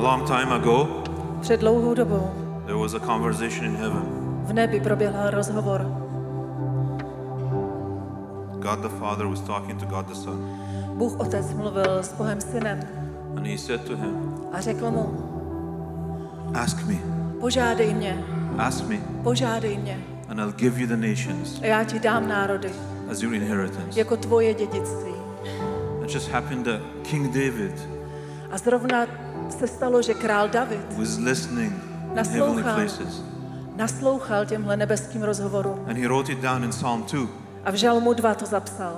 long time ago, před dlouhou dobou there was a conversation in heaven. v nebi proběhl rozhovor. God the Father was talking to God the Son. Bůh Otec mluvil s Bohem Synem And he said to him, a řekl mu, ask me, požádej mě and I'll give you the nations a já ti dám národy as your inheritance. jako tvoje dědictví. It just happened that King David A zrovna se stalo, že král David was listening in heavenly places. naslouchal těmhle nebeským rozhovorům. And he wrote it down in Psalm 2. A v Žalmu 2 to zapsal.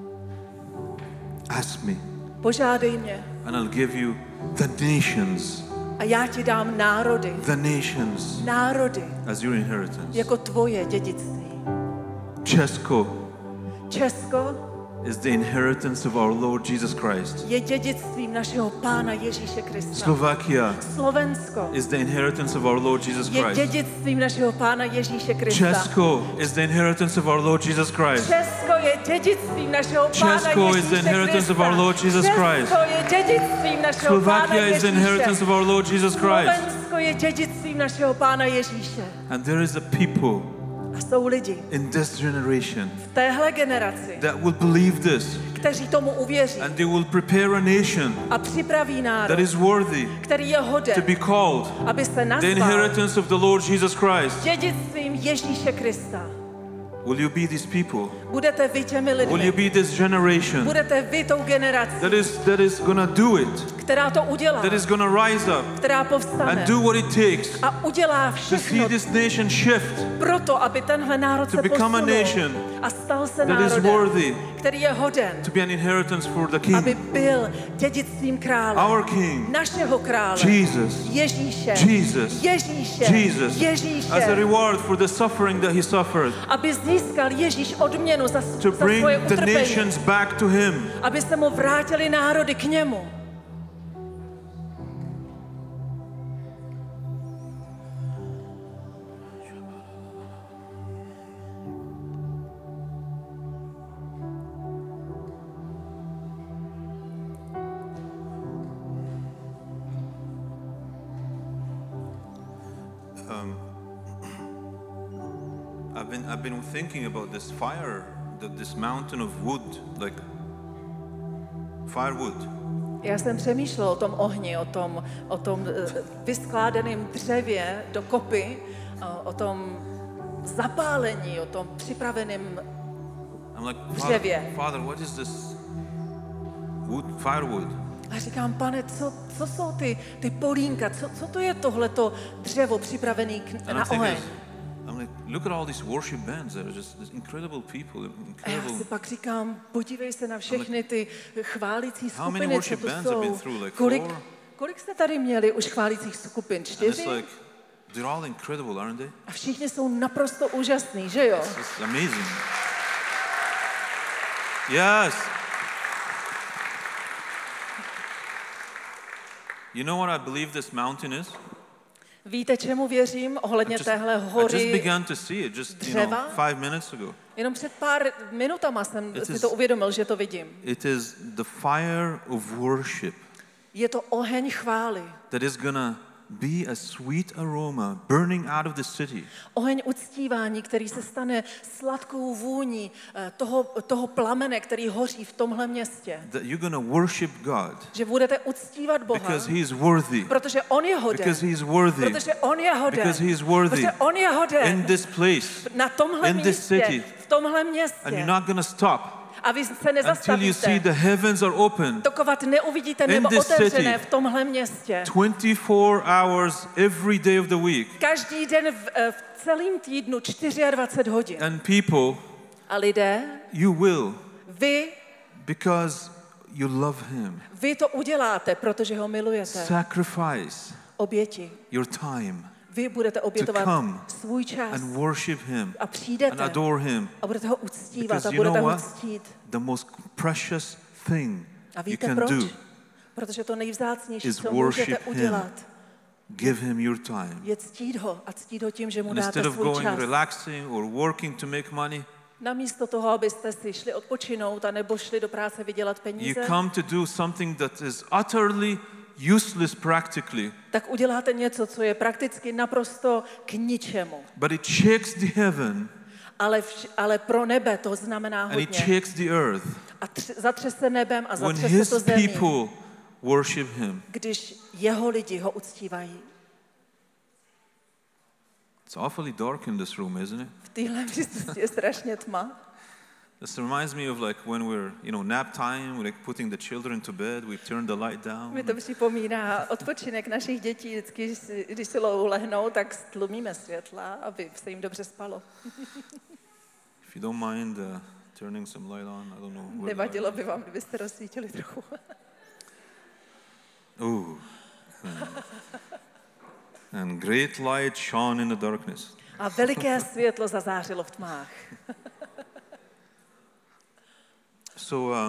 Ask me, Požádej mě and I'll give you the nations. a já ti dám národy As your inheritance. jako tvoje dědictví. Česko Česko is the inheritance of our Lord Jesus Christ. je dědictvím našeho Pána Ježíše Krista. Slovakia Slovensko is the inheritance of our Lord Jesus je Christ. dědictvím našeho Pána Ježíše Krista. Česko is the inheritance of our Lord Jesus Christ. Česko je dědictvím našeho Pána Česko is the Ježíše inheritance of our Krista. Lord Jesus Christ. Česko je dědictvím našeho Pána Slovakia is the inheritance Ježíše. of our Lord Jesus Christ. Slovensko je dědictvím našeho Pána Ježíše. And there is a people A jsou lidi in this generation v téhle generaci, that will believe this, kteří tomu uvěří and they will prepare a nation a připraví that národ, is worthy který je to hoden, be called aby se the nazval inheritance of the Lord Jesus Christ. dědictvím Ježíše Krista. Will you be these people? Budete vy těmi Will you lidmi. be this generation Budete vy tou generací, that is gonna do it, která to udělá, that is gonna rise up která and povstane do what it takes a udělá to see všechno this nation shift proto, aby tenhle národ to se become a posunul nation a stal se that is národem, worthy který je hoden, to be an inheritance for the aby King, byl dědictvím krále, our King, našeho krále, Jesus, Ježíše, Jesus, Ježíše, Jesus, Ježíše, as a reward for the suffering that he suffered, aby získal Ježíš odměnu za to bring svoje the utrpení, nations back to him. aby se mu vrátili národy k němu. I've been thinking about this fire, this mountain of wood, like firewood. Já jsem přemýšlel o tom ohni, o tom vyskládaném dřevě do kopy, o tom zapálení, o tom připraveném I'm like, dřevě. Father, what is this wood, firewood? A říkám, Pane, co jsou ty polínka, co to je tohleto dřevo připravené na oheň? I'm like, look at all these worship bands. They're just these incredible people. A já si pak říkám, podívej se na všechny ty chválící How many skupiny, co worship tu bands have been jsou. through? Like 4? Kolik jste tady měli už chválících skupin? And it's 4? like, they're all incredible, aren't they? A všichni jsou naprosto úžasný, že jo? It's amazing. Yes. You know what I believe this mountain is? Víte, čemu věřím ohledně téhle I just hory began to see it just, dřeva? 5 minutes ago. Jenom před pár minutama jsem si to uvědomil, že to vidím. It is the fire of worship Je to oheň chvály. that is gonna be a sweet aroma burning out of the city. Oheň uctívání, který se stane sladkou vůní toho plamene, který hoří v tomhle městě. That you're gonna worship God Že budete uctívat Boha, because He is worthy. protože on je hoden. Because He is worthy. Protože on je hoden. Because He is worthy. Protože on je hoden. In this place, Na tomhle in this místě, city. v tomhle and městě. you're not gonna stop A vy se until you see nezastavíte, the heavens are open dokovat neuvidíte in nebo this otevřené city. v tomhle městě. 24 hours every day of the week. Každý den v celém týdnu 24 hodin. And people, A lidé, you will, vy because you love Him, Vy to uděláte, protože ho milujete. sacrifice Oběti. your time Vy budete to obětovat come svůj čas and worship Him a and přijdete adore Him. a budete ho uctívat Because a you budete know ho what? ctít. The most precious thing A you víte can proč? do Protože to nejvzácnější, is co můžete worship Him. udělat, Give Him your time. je ctít ho a ctít ho tím, že mu And dáte instead of svůj going čas. relaxing or working to make money, Namísto toho, abyste si šli odpočinout a nebo šli do práce vydělat you peníze, come to do something that is utterly useless practically, tak uděláte něco, co je prakticky naprosto k ničemu. but it shakes the heaven Ale pro nebe to znamená and it hodně. shakes the earth A zatřese nebem a when zatřese his to zemí, people worship him. když jeho lidi ho uctívají. It's awfully dark in this room, isn't it? V téhle místnosti je strašně tma. This reminds me of like when we're, nap time, we're like putting the children to bed, we turn the light down. Mi to připomíná odpočinek našich dětí. Vždycky, když si lehnou, tak stlumíme světla, aby se jim dobře spalo. If you don't mind turning some light on, I don't know. where the Nevadilo light by vám, kdybyste rozsvítili trochu. is. Ooh. And great light shone in the darkness. A veliké světlo zazářilo v tmách. So,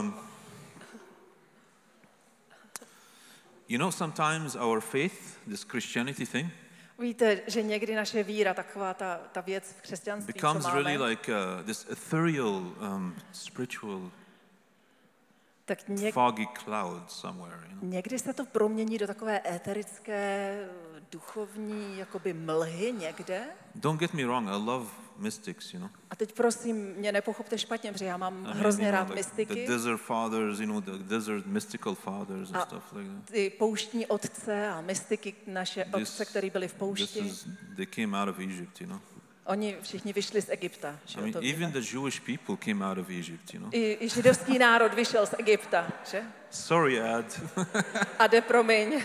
sometimes our faith, this Christianity thing, Víte, že někdy naše víra, taková ta věc v křesťanství, co becomes máme, really like this ethereal, spiritual, tak foggy cloud somewhere. někdy se to promění do takové éterické, duchovní, jakoby mlhy někde. Don't get me wrong, I love mystics, A teď prosím, mě nepochopte špatně, protože já mám hrozně rád like mystiky. the desert fathers, the desert mystical fathers and stuff like that. Ty pouštní otce a mystiky, naše otce, kteří byli v poušti, They came out of Egypt, oni všichni vyšli z Egypta. Že I mean, to even víme. the Jewish people came out of Egypt, I židovský národ vyšel z Egypta, že? Sorry, Ad. Ade, promiň.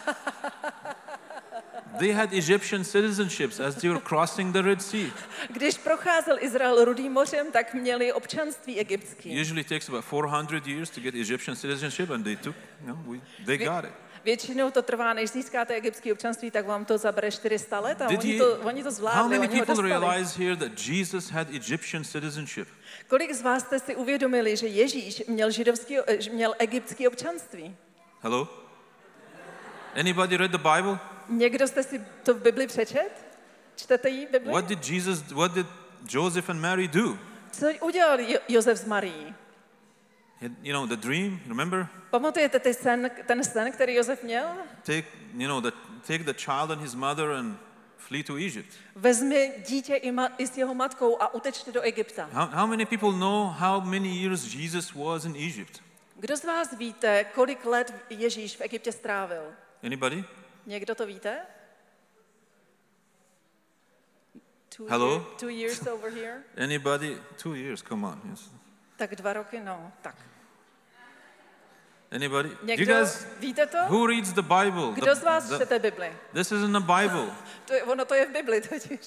They had Egyptian citizenships as they were crossing the Red Sea. Když procházel Izrael Rudým mořem, tak měli občanství egyptský. Usually takes about 400 years to get Egyptian citizenship, and they took, they got it. Většinou to trvá, než získáte egyptské občanství, tak vám to zabere 400 let a oni to How zvládli, many oni ho people dostali. realize here that Jesus had Egyptian citizenship? Kolik z vás jste si uvědomili, že Ježíš měl egyptské občanství? Hello? Anybody read the Bible? Někdo jste si to v Bibli přečet? Čtete jí Bibli? What did Joseph and Mary do? Co udělal Josef s Marií? The dream, remember? Pamatujete ten sen, který Josef měl? Take the child and his mother and flee to Egypt. Vezmi dítě i s jeho matkou a utečte do Egypta. How many people know how many years Jesus was in Egypt? Kdo z vás víte, kolik let Ježíš v Egyptě strávil? Anybody? Někdo to víte? Hello? 2 years over here? Anybody? 2 years, come on. Yes. Tak 2 roky, no, tak. Anybody? Někdo, víte to? Who reads the Bible? Kdo z vás čtete Bibli? This is in the Bible. To je v Bibli totiž.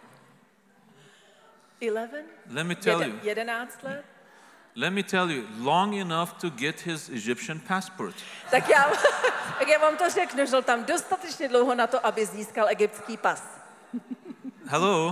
11? Let me tell you. 11 let? Let me tell you, long enough to get his Egyptian passport. Tak já vám to řeknu, že tam dostatečně dlouho na to, aby získal egyptský pas. Hello?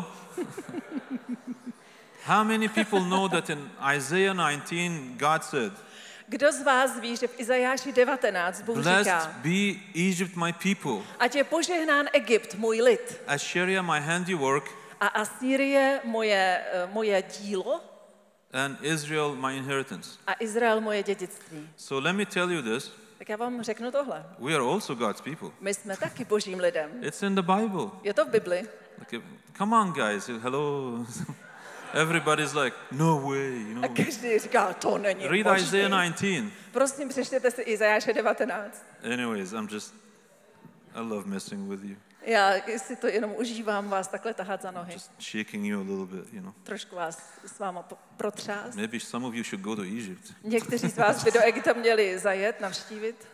How many people know that in Isaiah 19, God said, Kdo z vás ví, že v Izajáši 19 Bůh Blessed říká, be Egypt, my people, ať je požehnán Egypt, můj lid, Assyria, my handiwork, a Asýrie moje dílo, and Israel, my inheritance. a Izrael moje dědictví. So let me tell you this, Tak já vám řeknu tohle. we are also God's people. My jsme taky božím lidem. It's in the Bible. Je to v Bibli. Like, come on, guys, hello. Everybody's like, no way, A každý říká, to není Read možný. Isaiah 19. Prosím, přečtěte si Izajáše 19. Anyways, I love messing with you. Já si to jenom užívám vás takhle tahat za nohy. Just shaking you a little bit, Trošku vás s váma protřást. Maybe some of you should go to Egypt. Někteří z vás by do Egypta měli zajet, navštívit.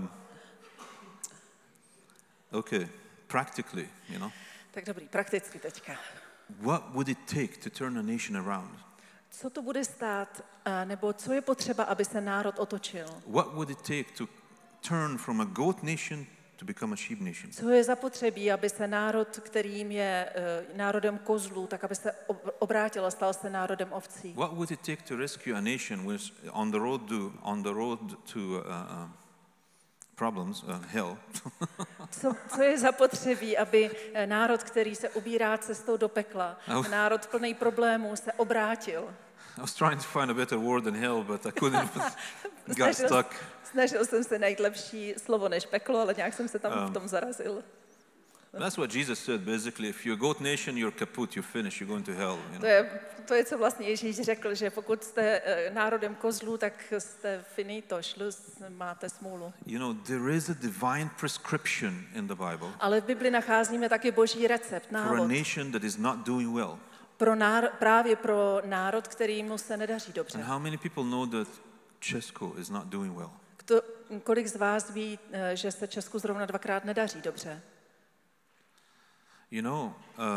Okay, practically, Tak dobrý, prakticky teďka. what would it take to turn a nation around? Co to bude stát, nebo co je potřeba, aby se národ otočil? What would it take to turn from a goat nation to become a sheep nation? Co je zapotřebí, aby se národ, kterým je národem kozlů, tak aby se obrátil a stal se národem ovcí? What would it take to rescue a nation which is on the road to problems, hell? Co je zapotřebí, aby národ, který se ubírá cestou do pekla, národ plný problémů, se obrátil? I was trying to find a better word than hell, but I couldn't. got stuck. Snažil jsem se najít lepší slovo než peklo, ale nějak jsem se tam v tom zarazil. That's what Jesus said, basically. If you're a goat nation, you're kaput, you're finished, you're going to hell. You know? To je, co vlastně Ježíš řekl, že pokud jste národem kozlů, tak jste finito, šluz, máte smůlu. You know, there is a divine prescription in the Bible Ale v Bibli nacházíme taky boží recept, for a návod. nation that is not doing well. Právě pro národ, kterýmu se nedaří dobře. And how many people know that Česko is not doing well? Kolik z vás ví, že se Česku zrovna dvakrát nedaří dobře? You know,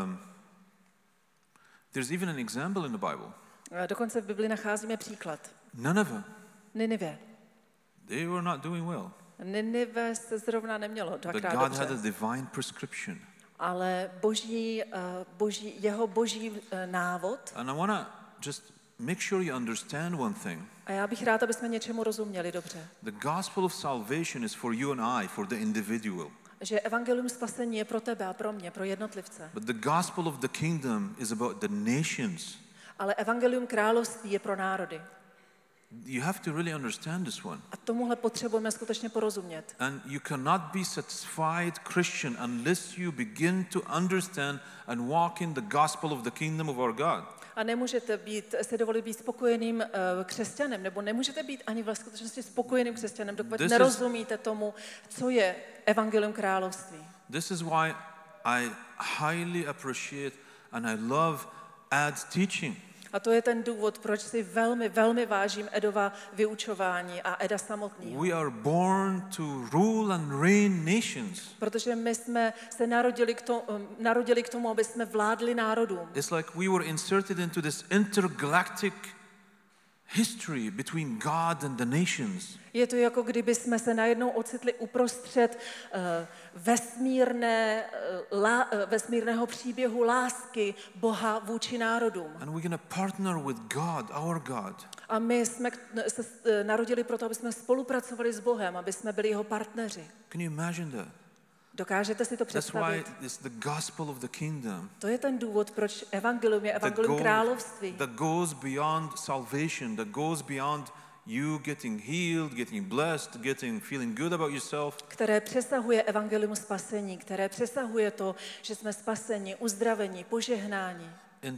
there's even an example in the Bible. Dokonce v Bibli nacházíme příklad. Ninive. They were not doing well. Ninive se zrovna nemělo But dvakrát God had a dobře. divine prescription. Ale jeho boží návod. And I want to just make sure you understand one thing. A já bych rád, aby jsme něčemu rozuměli dobře. The gospel of salvation is for you and I, for the individual. Že evangelium spasení je pro tebe a pro mě, pro jednotlivce. But the gospel of the kingdom is about the nations. Ale evangelium království je pro národy. You have to really understand this one. A tomuhle potřebujeme skutečně porozumět. And you cannot be satisfied Christian unless you begin to understand and walk in the gospel of the kingdom of our God. A nemůžete si dovolit být spokojeným křesťanem, nebo nemůžete být ani v skutečnosti spokojeným křesťanem, dokud nerozumíte tomu, co je evangelium království. This is why I highly appreciate and I love Ed's teaching. A to je ten důvod, proč si velmi, velmi vážím Edova vyučování a Eda samotného. We are born to rule and reign nations. Protože my jsme se narodili k tomu, aby jsme vládli národům. It's like we were inserted into this intergalactic history between God and the nations. Je to jako kdyby jsme se najednou ocitli uprostřed vesmírného příběhu lásky Boha vůči národům. And we're going to partner with God, our God. A my jsme se narodili proto, aby jsme spolupracovali s Bohem, aby jsme byli jeho partneři. Can you imagine that? Dokážete si to That's why představit? it's the gospel of the kingdom. To je ten důvod, proč evangelium je evangelium království. That goes beyond salvation, that goes beyond you getting healed, getting blessed, feeling good about yourself. Které přesahuje evangelium spasení, které přesahuje to, že jsme spaseni, uzdraveni, požehnáni.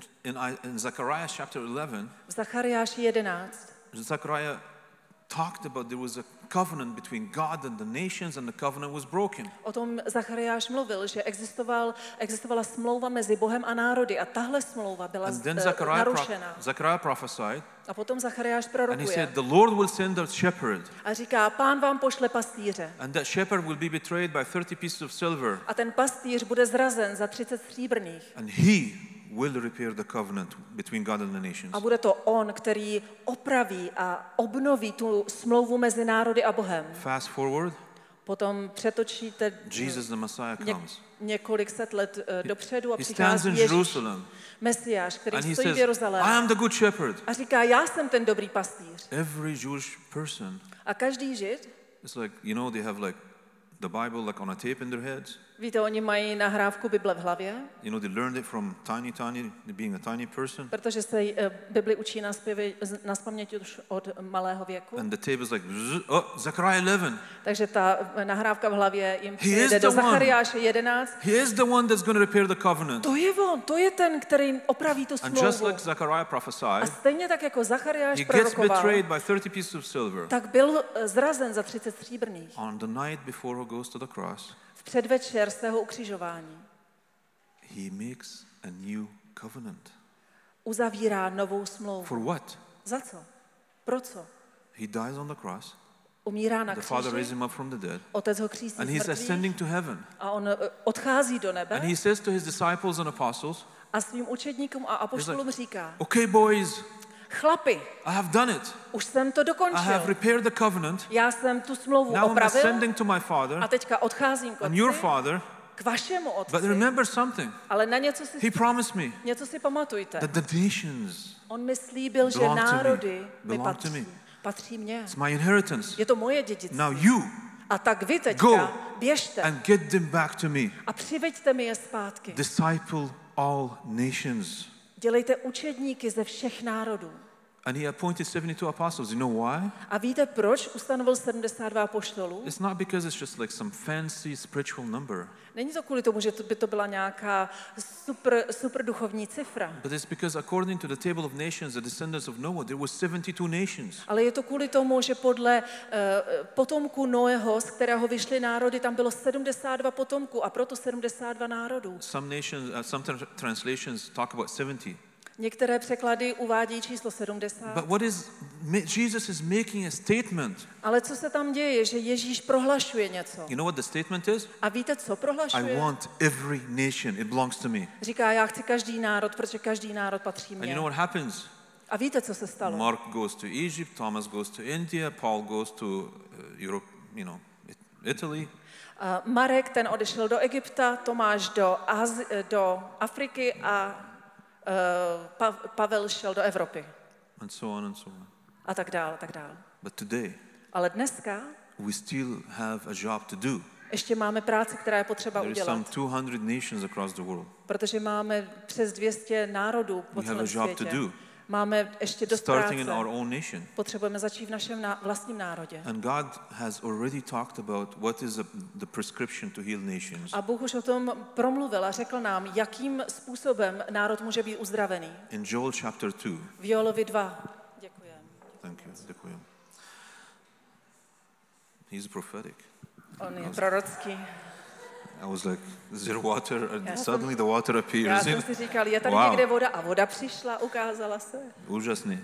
In Zechariah chapter 11, V Zachariáši 11 Zechariah talked about there was a covenant between God and the nations and the covenant was broken. O tom Zachariáš mluvil, že existovala smlouva mezi Bohem a národy a tahle smlouva byla narušena. Zechariah prophesied. A potom Zachariáš And he prorokuje. said, the Lord will send a shepherd. A říká, Pán vám pošle pastýře. And that shepherd will be betrayed by 30 pieces of silver. A ten pastýř bude zrazen za 30 stříbrných. And he will repair the covenant between God and the nations. A bude to on, který opraví a obnoví tu smlouvu mezi národy a Bohem. Fast forward, Potom přetočíte Jesus the Messiah comes. několik set let dopředu a He stands přichází in Ježíš, Jerusalem Mesiáš, který and he stojí v says, Jeruzalému. I am the good shepherd. A říká, já jsem ten dobrý pastýř. Every Jewish person, A každý Žid, it's like, you know, they have like the Bible like on a tape in their heads. víte, oni mají nahrávku Bible v hlavě, You know, they learned it from tiny, being a tiny person. protože se Bibli učí nazpaměť už od malého věku. And the tape is like, oh, Zechariah 11. Takže ta nahrávka v hlavě jim is přijde do the one. Zachariáše 11. He is the one that's going to repair the covenant. To je on, to je ten, který opraví tu And just smlouvu. like Zechariah A prophesied, stejně tak jako Zachariáš he gets prorokoval, betrayed by 30 pieces of silver. tak byl zrazen za 30 stříbrných. On the night before he goes to the cross, V předvečer svého ukřižování he makes a new covenant. uzavírá novou smlouvu. For what? Za co? Pro co? He dies on the cross. Umírá na The Father raised kříži, him up from the dead. Otec ho kříží And z he's mrtvých ascending to heaven. a on odchází do nebe And he says to his disciples and apostles, a svým učedníkům a apoštolům říká, okay, boys, chlapi, I have done it. už jsem to I have dokončil. repaired the covenant. Já jsem tu smlouvu Now I'm opravil ascending to my Father a teďka odcházím k and your otci, Father. k vašemu But otci. remember something. Ale na He promised me něco si pamatujte. that the nations, On mi slíbil, že belong to me. národy mi Belong to patří. me. Patří mně. it's my inheritance. Je to moje dědictví. Now you A tak vy go teďka běžte and get them back to me. a přiveďte mi je zpátky. Disciple all nations. Dělejte učedníky ze všech národů. And he appointed 72 apostles. You know why? A víte, proč ustanovil 72 apoštolů? It's not because it's just like some fancy spiritual number, Není to kvůli tomu, že by to byla nějaká super duchovní cifra. but it's because according to the table of nations, the descendants of Noah, there were 72 nations. Ale je to kvůli tomu, že podle potomků Noého, z kterého vyšly národy, tam bylo 72 potomků a proto 72 národů. Some translations talk about 70. Některé překlady uvádí číslo 70. But Jesus is making a statement. Ale co se tam děje, je, že Ježíš prohlašuje něco. You know what the statement is? A víte, co I prohlašuje? want every nation. It belongs to me. Říká, já chci každý národ, protože každý národ patří And you mně. know what happens? A víte, co se stalo? Mark goes to Egypt, Thomas goes to India, Paul goes to Europe, Italy. Marek, ten odešel do Egypta, Tomáš do Afriky a Pavel šel do Evropy. And so on and so on. A tak dál, tak dál. But today, Ale dneska we still have a job to do. ještě máme práci, která je potřeba There is some udělat. 200 nations across the world. Protože máme přes 200 národů po We have celém a job to světě. do. Máme ještě dost Starting in práce. our own nation. Potřebujeme začít v našem vlastním národě. And God has already talked about what is the prescription to heal nations. A Bůh už o tom promluvil a řekl nám, jakým způsobem národ může být uzdravený. In Joel chapter 2. V Joelovi 2. Děkujeme. Thank you. Děkuji. He's prophetic. On je prorocký. I was like, is there water? And Já suddenly the water Já appears. jsem si říkal, je tady Wow. někde voda a voda přišla, ukázala se. Úžasný.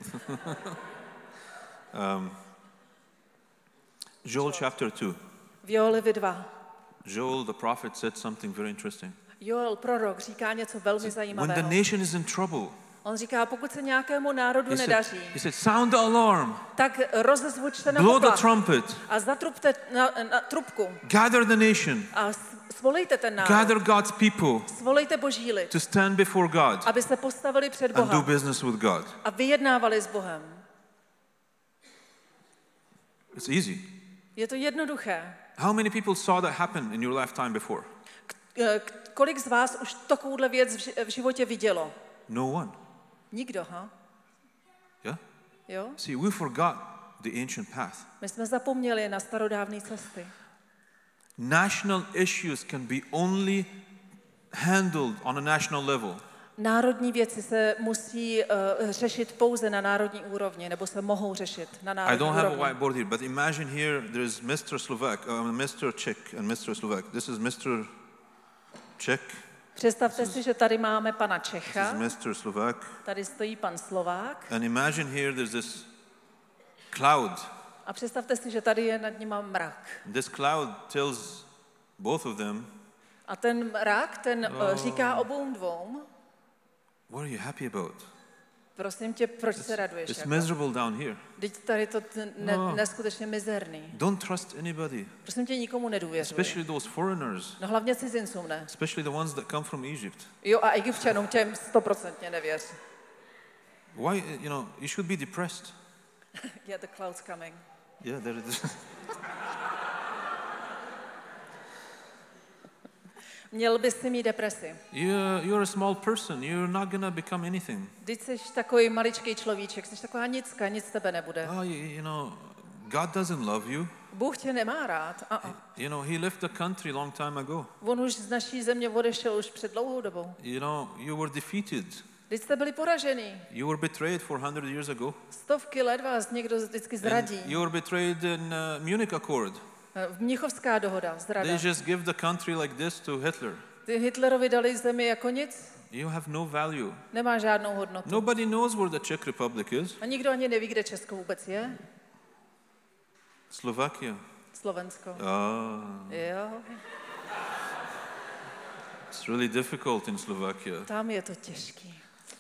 Joel chapter 2. V Joelovi 2. Joel the prophet said something very interesting. Joel, prorok, říká něco velmi When the zajímavého. nation is in trouble, On říká, pokud se nějakému národu nedaří, he said, sound the alarm, tak rozezvučte na blow the poplach trumpet, a zatrubte na trubku gather the nation, a svolejte ten národ. gather God's people Svolejte boží lid, to stand before God aby se postavili před and do Boha business with God. a vyjednávali s Bohem. It's easy. Je to jednoduché. How many people saw that happen in your lifetime before? Kolik z vás už takovouhle věc v životě vidělo? No one. Nikdo, ha? Yeah? Jo? See, we forgot the ancient path. My jsme zapomněli na starodávné cesty. National issues can be only handled on a national level. Národní věci se musí řešit pouze na národní úrovni, nebo se mohou řešit na I národní don't have a úrovni. whiteboard here, but imagine here there is Mr. Slovak, Mr. Czech and Mr. Slovak. This is Mr. Czech, Představte si, že tady máme pana this Čecha, is Mr. Slovak. tady stojí pan Slovák And imagine here there's this cloud. a představte si, že tady je nad nima mrak. This cloud tells both of them, A ten mrak, ten říká obou dvou, what are you happy about? prosím tě, proč se raduješ? It's Jako? miserable down here. Teď tady to neskutečně mizerný. Don't trust anybody, Prosím tě, nikomu nedůvěřuj. especially those foreigners, No hlavně cizincům ne. especially the ones that come from Egypt. Jo, a Egypťanům těm 100% nevěř. Why, you should be depressed. Yeah, the cloud's coming. Yeah, there it is. Měl bys si mít depresi. You're a small person. You're not going to become anything. Teď jsi takový maličký človíček, jsi taková nicka, nic z tebe nebude. God doesn't love you. Bůh tě nemá rád. He left the country long time ago. On už z naší země odešel už před dlouhou dobou. You were defeated. Teď jste byli poražený. You were betrayed 400 years ago. Stovky let vás někdo vždycky zradí. And you were betrayed in Munich Accord. Mnichovská dohoda, zrada. They just give the country like this to Hitler. Ty Hitlerovi dali zemi jako nic, You have no value. nemá žádnou hodnotu. Nobody knows where the Czech Republic is. A nikdo ani neví, kde Česko vůbec je. Slovakia. Slovensko. Jo, It's really difficult in Slovakia. tam je to těžký.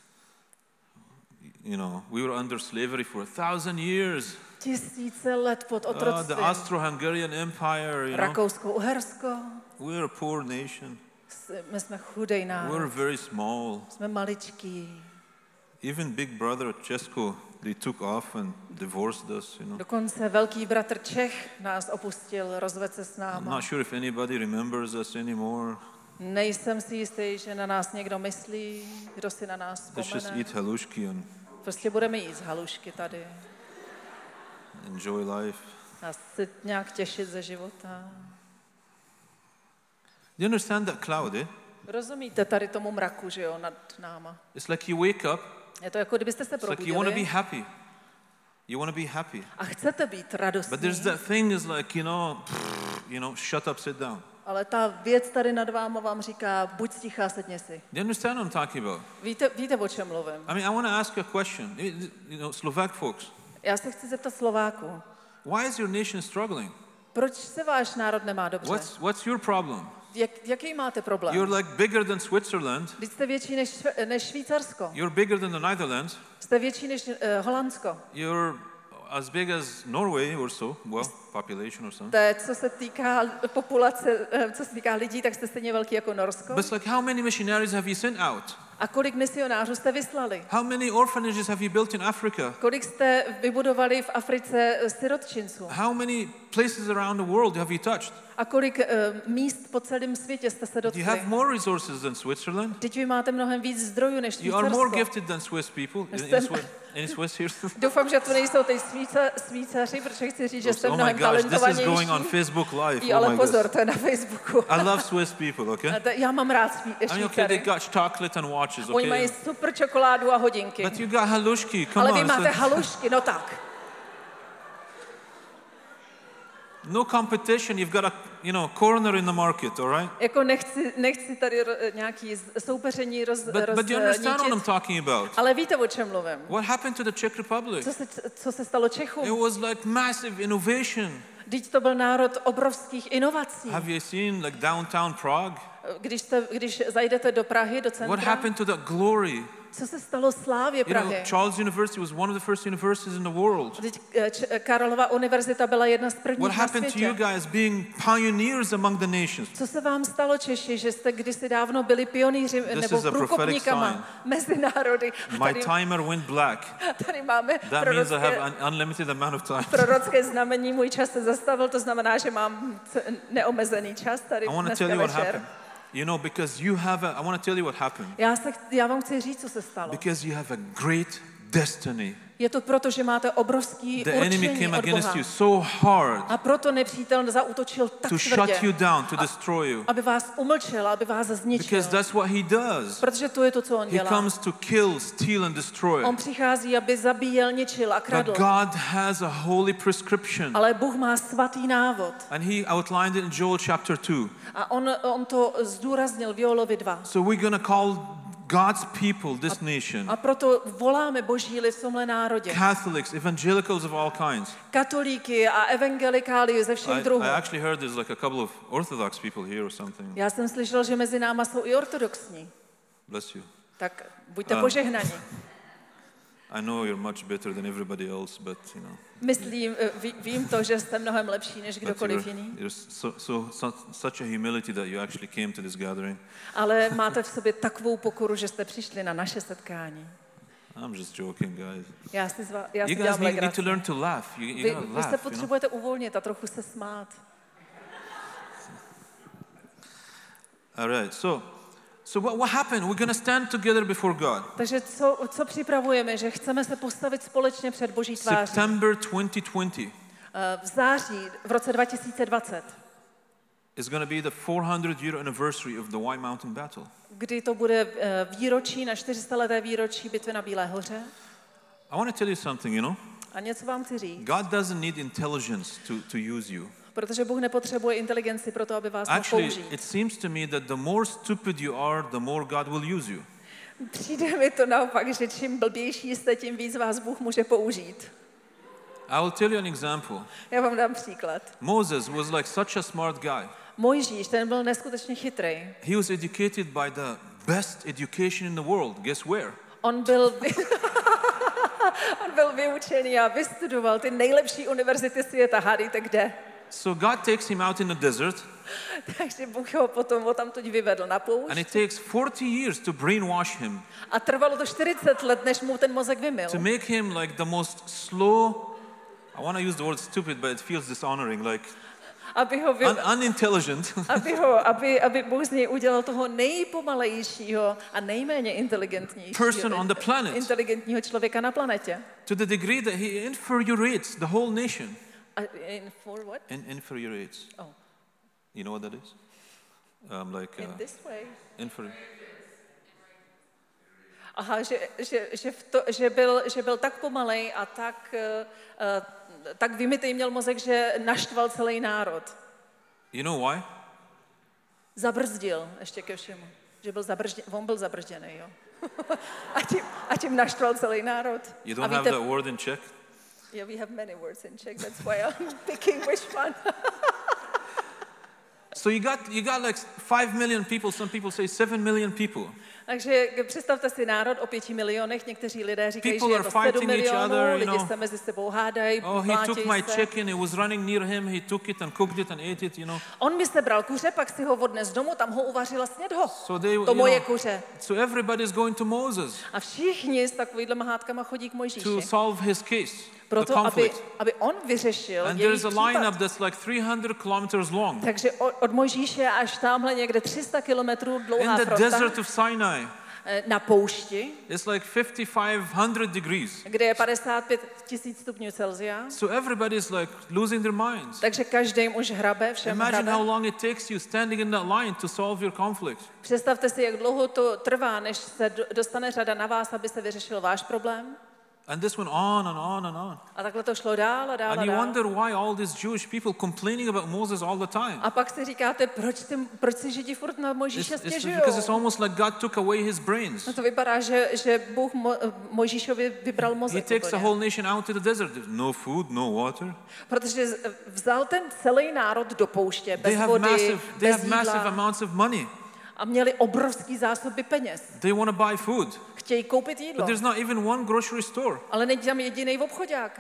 We were under slavery for 1,000 years. 1000 let pod The otroctvím. Austro-Hungarian Empire, Rakousko-Uhersko. We're a poor nation. My jsme chudej We're národ. very small. Jsme maličký. Even Big Brother Česko, they took off and divorced us, Dokonce velký bratr Čech nás opustil, rozvedl se s I'm náma. not sure if anybody remembers us anymore. Nejsem si jistý, že na nás někdo myslí, kdo si na nás Let's just vzpomene. eat halušky and Prostě budeme jíst halušky tady enjoy life. a se nějak těšit ze života. Do you understand that cloud, eh? Rozumíte tady tomu mraku, že jo, nad náma? It's like you wake up, Je to jako kdybyste se it's like you want to be probudili happy. You want to be happy. a chcete být But there's radostní, that thing is like, shut up, sit down. ale ta věc tady nad váma vám říká, buď stichá, sedni si. Do you understand what I'm talking about? Víte, o čem mluvím? I mean, I want to ask you a question. Slovak folks, Já se chci zeptat Slováků, why is your nation struggling? proč se váš národ nemá dobře? What's your problem? Jaký máte problém? You're like bigger than Switzerland. Vy jste větší než Švýcarsko. You're bigger than the Netherlands. Jste větší než Holandsko. You're as big as Norway or so. Well, population or something. To je, co se týká populace, co se týká lidí, tak jste stejně velký jako Norsko. But it's like, how many missionaries have you sent out? A kolik misionářů jste vyslali? How many orphanages have you built in Africa? Kolik jste vybudovali v Africe sirotčinců? How many places around the world have you touched? A kolik míst po celém světě jste se Do you have dotkli? more resources than Switzerland? Teď vy máte mnohem víc zdrojů než You are more Švýcarsko. gifted than Swiss people. In Swiss here. Doufám, že to nejsou ty Švýcaři, protože chci říct, že jste Oh my mnohem gosh, this is going on talentovanější. Facebook Live. Jo, Oh ale my pozor, gosh. to je na Facebooku. I love Swiss people, okay? Já mám rád I mean, okay, they Švýcary. got chocolate and watches, Oni mají okay? super čokoládu a hodinky. But you got halushki, come Ale on. vy máte it's halušky, no tak. no competition, you've got a, corner in the market, all right? Jako nechci tady nějaký soupeření But you understand what I'm roznítit, talking about? ale víte, o čem mluvím. What happened to the Czech Republic? Co se stalo It Čechům? was like massive innovation. Vždyť to byl národ obrovských inovací. Have you seen like downtown Prague? Když zajdete do Prahy, do What centra, happened to that glory? co se stalo slávě Prahy? Charles University was one of the first universities in the world. Vždyť Karlova univerzita byla jedna z What prvních na happened to you světě. guys being pioneers among the nations? Co se vám stalo, Češi, že jste kdysi dávno byli pionýři nebo is a prophetic průkopníkama mezi národy? A My timer went black. tady máme That means I have an unlimited amount of time. prorocké znamení, můj čas se zastavil, to znamená, že mám neomezený čas tady I want to dneska tell you what večer. happened. Because you have I want to tell you what happened. Já vám chci říct, co se stalo. Because you have a great destiny. Je to proto, že máte obrovský The enemy určení came od against Boha. you so hard A proto nepřítel zaútočil tak to tvrdě, shut you down, to destroy you. aby vás umlčel, aby vás zničil. Because that's what he does. Protože to je to, co on He dělá. comes to kill, steal and destroy. On přichází, aby zabíjel, ničil a But kradl. God has a holy prescription. Ale Bůh má svatý návod. And he outlined it in Joel chapter 2. A on to zdůraznil v Joelovi 2. So we're going to call God's people, this nation, A proto voláme Boží lid v tomhle národě. Catholics, evangelicals of all kinds. Katolíky a evangelikály ze všech druhů. I actually heard there's like a couple of Orthodox people here or something. Já jsem slyšel, že mezi náma jsou i ortodoxní. Bless you. Tak buďte požehnaní. I know you're much better than everybody else, but Vím to, že jste mnohem lepší než but kdokoliv jiný. you're such a humility that you actually came to this gathering. Ale máte v sobě takovou pokoru, že jste přišli na naše setkání. I'm just joking, guys. Já si You guys dělám need legraci. to learn to laugh. You gotta Vy laugh, se potřebujete uvolnit a trochu se smát. All right. So what happened? We're going to stand together before God. Takže co připravujeme, že chceme se postavit společně před Boží tváří. September 2020 V září, v roce 2020, is going to be the 400-year anniversary of the White Mountain Battle. kdy to bude výročí, na 400leté výročí bitvy na Bílé hoře. I want to tell you something, A něco vám chci říct, God doesn't need intelligence to use you. protože Bůh nepotřebuje inteligenci pro to, aby vás mohl Actually, použít. it seems to me that the more stupid you are, the more God will use you. Přijde mi to naopak, že čím blbější jste, tím víc vás Bůh může použít. I will tell you an example. Já vám dám příklad. Moses was like such a smart guy. Mojžíš, ten byl neskutečně chytrý. He was educated by the best education in the world. Guess where? On byl vyučený a vystudoval ty nejlepší univerzity světa. Hádejte kde? So God takes him out in the desert, Takže Bůh ho potom odtamtud vyvedl na and poušť. it takes 40 years to brainwash him, A trvalo to 40 let, než mu ten mozek vymyl. to make him like the most slow, I want to use the word stupid, but it feels dishonoring, like unintelligent, aby Bůh z něj udělal toho nejpomalejšího a nejméně person on the planet. inteligentního člověka na planetě. To the degree that he infuriates the whole nation. For what? Infuriates. Oh. You know what that is? Like In this way. Aha, že byl tak pomalej a tak vymytej měl mozek, že naštval celý národ. You know why? Zabrzdil ještě ke všemu. Že on byl zabrzděný, jo. a tím naštval celý národ. You don't have that word in Czech? Yeah, we have many words in Czech, that's why I'm picking which one. So you got like 5 million people, some people say 7 million people. Takže představte si národ o 5 milionech, někteří lidé říkají, že People je to are 7 fighting each milionů, other, you lidi know. se mezi sebou hádají, Oh, he took my mlátějí se. chicken, he was running near him, he took it and cooked it and ate it, you know. On mi sebral kuře, pak si ho odnes domů, tam ho uvařil a sněd ho. So they, To moje kuře. so everybody is going to Moses A všichni s takovýhlema hádkama chodí k to Mojžíši. solve his case, the Proto, conflict. aby on vyřešil And jejich there's a lineup případ. that's like 300 kilometers long. Takže od Mojžíše až tamhle někde 300 kilometrů In dlouhá the fronta desert of Sinai, na poušti, it's like 5,500 degrees. kde je 55 000 stupňů Celsia. So everybody's like losing their minds. Takže každý už hrabe, všem Imagine hrabe. how long it takes you standing in that line to solve your conflict. Představte si, jak dlouho to trvá, než se dostane řada na vás, aby se vyřešil váš problém. And this went on and on and on. A takhle to šlo dál a dál And a you dál. wonder why all these Jewish people complaining about Moses all the time. A pak si říkáte, proč si Židi furt na Mojžíše It's stěžují? because it's almost like God took away his brains. No to vypadá, že Bůh Mojžíšovi vybral He mozek takes the úplně. whole nation out to the desert. There's no food, no water. Protože vzal ten celý národ do pouště, bez They have vody, bez massive jídla amounts of money. a měli obrovský zásoby peněz. They want to buy food, Chtějí koupit but jídlo, there's not even one grocery store. ale není tam jediný obchodák.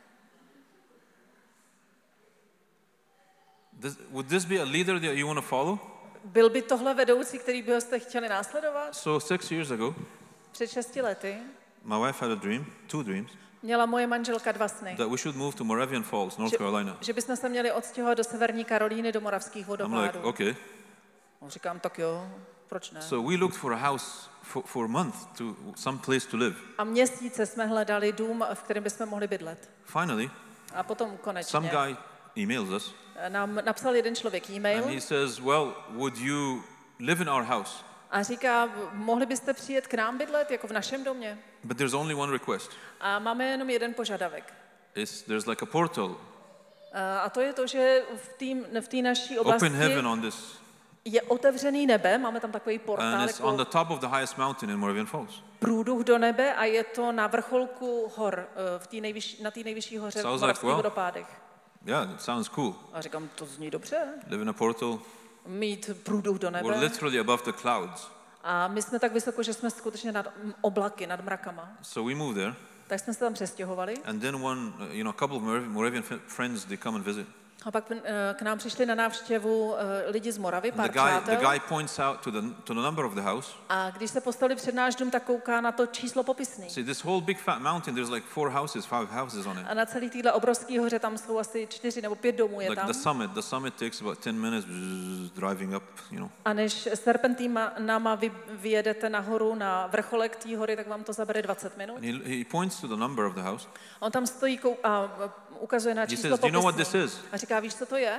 Would this be a leader that you want to follow? Byl by tohle vedoucí, který by jste chtěli následovat? So 6 years ago, Před 6 lety my wife had a dream, 2 dreams, měla moje manželka 2 sny. that we should move to Moravian Falls, North Carolina. Že bychom se měli odstěhovat do Severní Karolíny, do moravských I'm like, vodopádů. okay. Říkám, tak jo, proč ne? So we looked for a house for a month, to some place to live. A měsíce jsme hledali dům, v kterém bychom mohli bydlet. Finally, A potom some konečně guy emails us nám napsal jeden člověk e-mail and he says, well, would you live in our house? a říká, mohli byste přijet k nám bydlet, jako v našem domě? But there's only one request. A máme jenom jeden požadavek. There's like a portal, A to je to, že v té naší oblasti open heaven on this, je otevřený nebe, máme tam takový and portál, it's on the jako top of the highest mountain in Moravian Falls. průduch do nebe a je to na vrcholku hor, na té nejvyšší hoře v Sounds like, moravských well, vodopádech. Yeah, it sounds cool. A říkám, to zní dobře, Live in a portal. mít průduch do We're nebe. literally above the clouds. A my jsme tak vysoko, že jsme skutečně nad oblaky, nad mrakama. So we moved there, Tak jsme se tam přestěhovali. and then a couple of Moravian friends, they come and visit. A pak k nám přišli na návštěvu lidi z Moravy, And pár the přátel. guy points out to the number of the house. A když se postavili před náš dům, tak kouká na to číslo popisný. See, this whole big fat mountain, there's like 5 houses on it. A na celý téhle obrovský hoře tam jsou asi 4 nebo 5 domů je Like tam. the summit takes about 10 minutes driving up, A než serpentínama vyjedete nahoru na vrcholek té hory, tak vám to zabere 20 minut. And he points to the number of the house. On tam stojí a ukazuje na He číslo says, "Do you know what popisný. this is?" A říká, víš, co to je?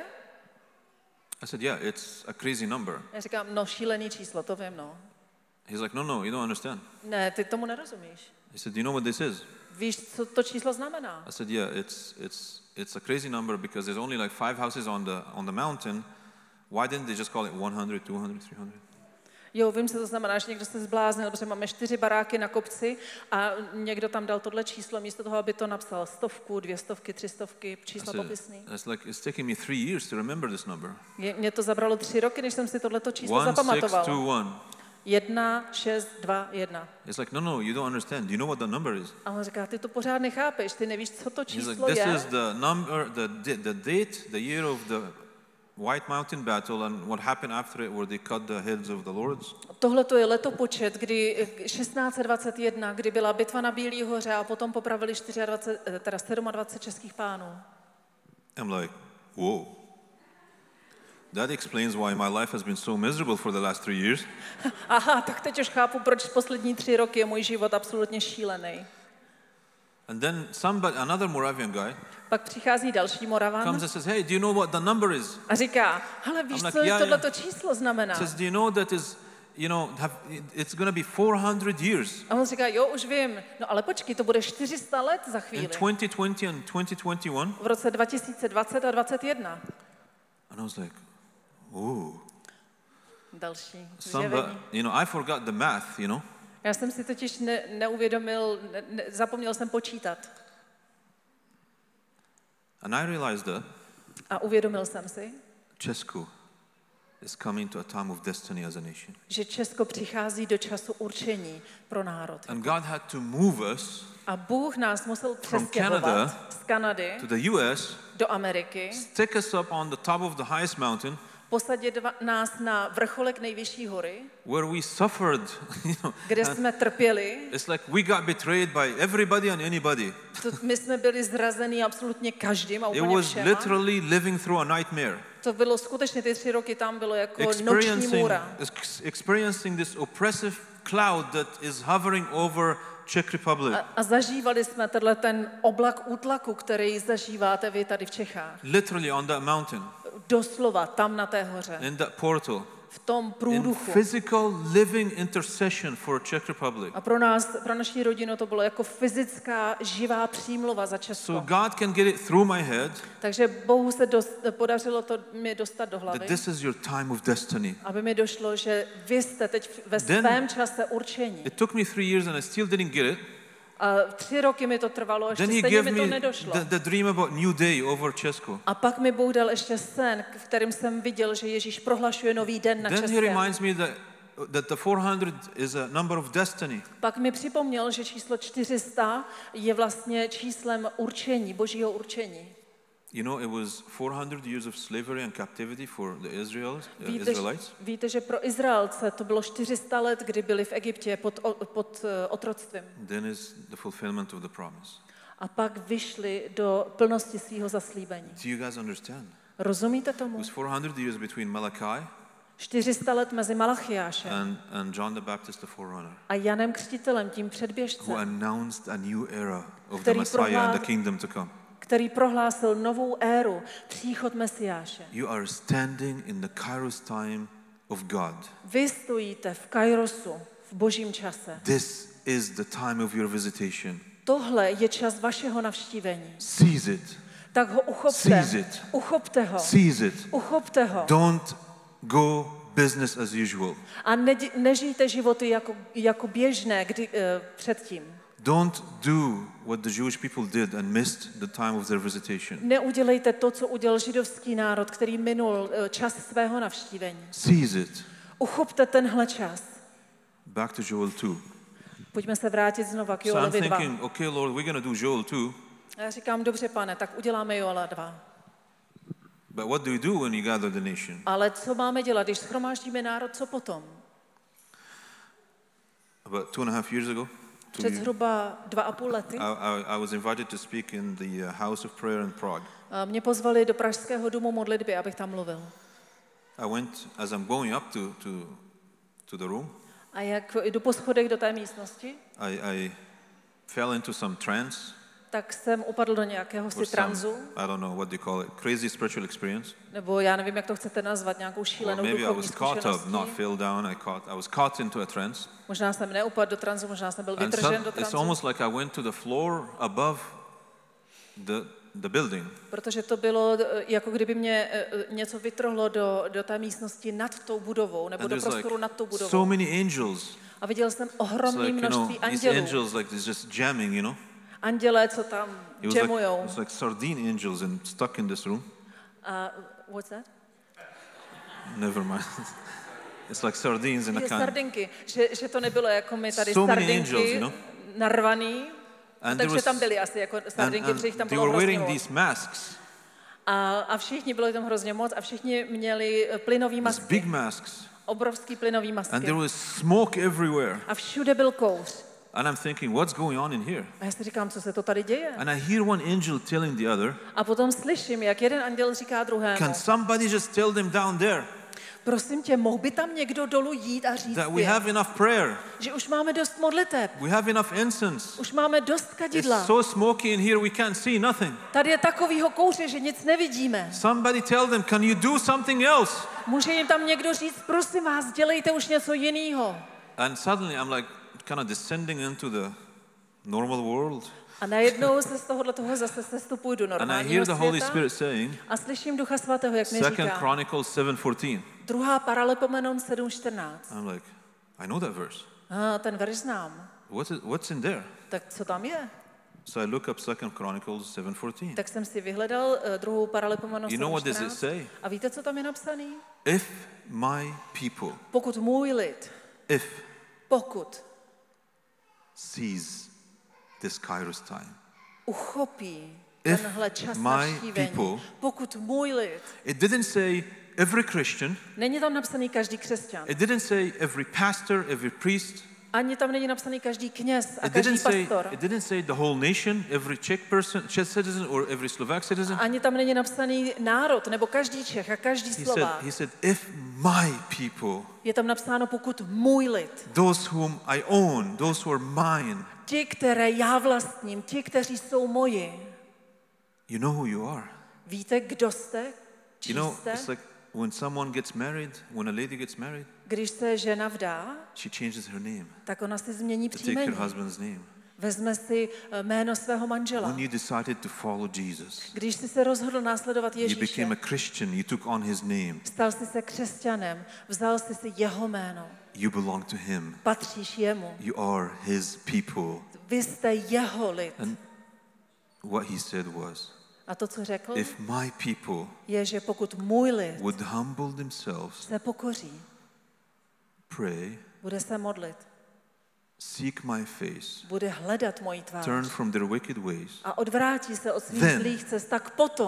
I said, yeah, it's a crazy number. Já říkám, no šílený číslo, to vím, no. He's like, no, you don't understand. Ne, ty tomu nerozumíš. He said, do you know what this is? Víš, co to číslo znamená? I said, yeah, it's a crazy number because there's only like 5 houses on the mountain. Why didn't they just call it 100, 200, 300? Jo, vím, co to znamená, že někdo se zbláznil, protože máme 4 baráky na kopci a někdo tam dal tohle číslo, místo toho, aby to napsal 100, 200, 300, číslo popisný. It's taking me 3 years to remember this number. Mě to zabralo 3 roky, než jsem si tohleto číslo zapamatoval. 1621. 1621. It's like, no, you don't understand. Do you know what the number is? A on říká, ty to pořád nechápeš, ty nevíš, co to He's číslo like, this je. is the number, the date, the year of the White Mountain battle and what happened after it where they cut the heads of the lords. Tohle to je letopočet, kdy 1621, kdy byla bitva na Bílý hoře a potom popravili 27 českých pánů. I'm like, whoa. That explains why my life has been so miserable for the last 3 years. Aha, tak teď už chápu, proč poslední 3 roky je můj život absolutně šílený. And then another Moravian guy Pak přichází další Moravan comes and says, "Hey, do you know what the number is?" a říká, hele, víš, I'm like, co yeah, tohleto číslo znamená? Says, "Do you know that is, it's going to be 400 years A on říká, jo, už vím, no ale počkej, to bude 400 let za in chvíli. 2020 and 2021?" V roce 2020 a 2021. And I was like, "Oh." Další zjevení. I forgot the math, Já jsem si totiž neuvědomil, zapomněl jsem počítat. And I realized that A uvědomil jsem si, Česko is coming to a time of destiny as a nation. že Česko přichází do času určení pro národ. And God had to move us A Bůh nás musel Canada přestěhovat z Kanady to the US, do Ameriky, stick us up on the top of the highest mountain, posadit nás na vrcholek nejvyšší hory, where we suffered, kde jsme trpěli. It's like we got betrayed by everybody and anybody. My jsme byli zrazení absolutně každým a It úplně was všema. literally living through a nightmare. To bylo skutečně, ty 3 roky tam bylo jako noční můra. Experiencing this oppressive cloud that is hovering over Czech Republic. A zažívali jsme ten oblak útlaku, který zažíváte vy tady v Čechách. Literally on that mountain. Doslova tam na té hoře. In that portal. V tom In průduchu. physical living intercession for Czech Republic. A pro naši rodinu to bylo jako fyzická živá přímluva za Česko. So God can get it through my head. Takže Bohu se podařilo to mi dostat do hlavy. That this is your time of destiny. Aby mi došlo, že vy jste teď ve svém čase určení. It took me 3 years and I still didn't get it. A 3 roky mi to trvalo, ještě Then he stejně gave mi to me nedošlo. the dream about new day over Česko. A pak mi Bůh dal ještě sen, v kterém jsem viděl, že Ježíš prohlašuje nový den na Then he Českém. reminds me that the 400 is a number of destiny. Pak mi připomněl, že číslo 400 je vlastně číslem určení, božího určení. It was 400 years of slavery and captivity for the Israelites. Víte, že pro Izraelce to bylo 400 let, kdy byli v Egyptě pod otroctvím. Then is the fulfillment of the promise. A pak vyšli do plnosti svého zaslíbení. Do you guys understand? Rozumíte tomu? It was 400 years between Malachi 400 let mezi Malachiášem and John the Baptist, the forerunner, a Janem Křtitelem, tím who předběžcem, announced a new era of the Messiah and the kingdom to come. který prohlásil novou éru, příchod Mesiáše. You are standing in the Kairos time of God. Vy stojíte v Kairosu, v božím čase. This is the time of your visitation. Tohle je čas vašeho navštívení. Seize it. Tak ho uchopte. Seize it. Uchopte ho. Seize it. Uchopte ho. Don't go business as usual. A nežijte životy jako běžné předtím. Don't do what the Jewish people did and missed the time of their visitation. Neudělejte to, co udělal židovský národ, který minul čas svého navštívení. Seize it. Uchopte tenhle čas. Back to Joel 2. Pojďme se vrátit znova k So I'm Joelovi 2. thinking, okay, Lord, we're going to do Joel 2. A já říkám, dobře, pane, tak uděláme Joela 2. But what do you do when you gather the nation? Ale co máme dělat, když shromáždíme národ, co potom? About 2.5 years ago, Před zhruba 2,5 lety I was invited to speak in the House of Prayer in Prague. mě pozvali do Pražského domu modlitby, abych tam mluvil. I went, as I'm going up to the room, A jak jdu po schodech do té místnosti, I fell into some trance, tak jsem upadl do nějakého si tranzu, I don't know what they call it, crazy spiritual experience. nebo já nevím, jak to chcete nazvat, nějakou Or šílenou maybe I duchovní was caught up, not zkušeností. fell down. I was caught into a trance. Možná jsem neupadl do tranzu, možná jsem byl And vytržen do it's tranzu, almost like I went to the floor above the building. protože to bylo, jako kdyby mě něco vytrhlo do té místnosti nad tou budovou, nebo And do there's prostoru nad tou so budovou. many angels. A viděl jsem It's ohromné like, množství these andělů. angels like it's just jamming, Andělé, co tam jamujou. It's like sardine angels and stuck in this room. What's that? Never mind. It's like sardines in a can. Sardinky, že to nebylo jako my tady So many sardinky angels, narvaný, And takže tam byly asi jako sardinky, protože jich tam they bylo were hrozně wearing moc. these masks, A všichni, bylo tam hrozně moc, a všichni měli plynový these masky, big masks. obrovský plynový And masky. there was smoke everywhere. A všude byl kouř. And I'm thinking, what's going on in here? A já si říkám, co se to tady děje. And I hear one angel telling the other, A potom slyším, jak jeden anděl říká druhému, can somebody just tell them down there prosím tě, mohl by tam někdo dolů jít a říct that we jim, have enough prayer, že už máme dost modliteb, we have enough incense. už máme dost kadidla. It's so smoky in here we can't see nothing. Tady je takovýho kouře, že nic nevidíme. Somebody tell them, can you do something else? Může jim tam někdo říct, prosím vás, dělejte už něco jiného. And suddenly I'm like kind of descending into the normal world. A najednou se z toho zase sestupuji do And I normálního hear the Holy světa Spirit saying, a slyším Ducha Svatého, jak mi 2 říká, Chronicles 7:14. 2. Paralipomenon 7.14. I'm like, I know that verse. Ten verš znám. What's in there? Tak co tam je? So I look up 2 Chronicles 7:14. Tak jsem si vyhledal 2. Paralipomenon You know what does it 7.14. say? A víte, co tam je napsaný? If my people, Pokud můj lid, pokud sees this Kairos time, uchopí If tenhle čas my navštívení, people- pokud můj lid, it didn't say every Christian, není tam napsaný každý křesťan, it didn't say every pastor, every priest, ani tam není napsaný každý kněz a it každý didn't pastor, say the whole nation, every Czech citizen or every Slovak citizen. ani tam není napsaný národ, nebo každý Čech a každý Slovák. He said, if my people, Je tam napsáno, pokud můj lid, those whom I own, those who are mine, ti, které já vlastním, ti, kteří jsou moji. you know who you are. Víte, kdo jste? Čí You know, jste? it's like when someone gets married, when a lady gets married, Když se žena vdá, she changes her name tak ona si změní to take příjmení. her husband's name. Vezme si jméno svého manžela. When you decided to follow Jesus, Když jsi se rozhodl následovat you Ježíše, became a Christian, you took on his name, stal jsi se křesťanem, vzal jsi si jeho jméno, you belong to him, patříš jemu, you are his people. vy jste jeho lid. And what he said was, A to, co řekl, if my people je, že pokud můj lid would humble themselves, se pokoří, pray, bude se modlit, seek my face, bude hledat moji tvář turn from their wicked ways, a odvrátí se od svých Then- zlých cest, tak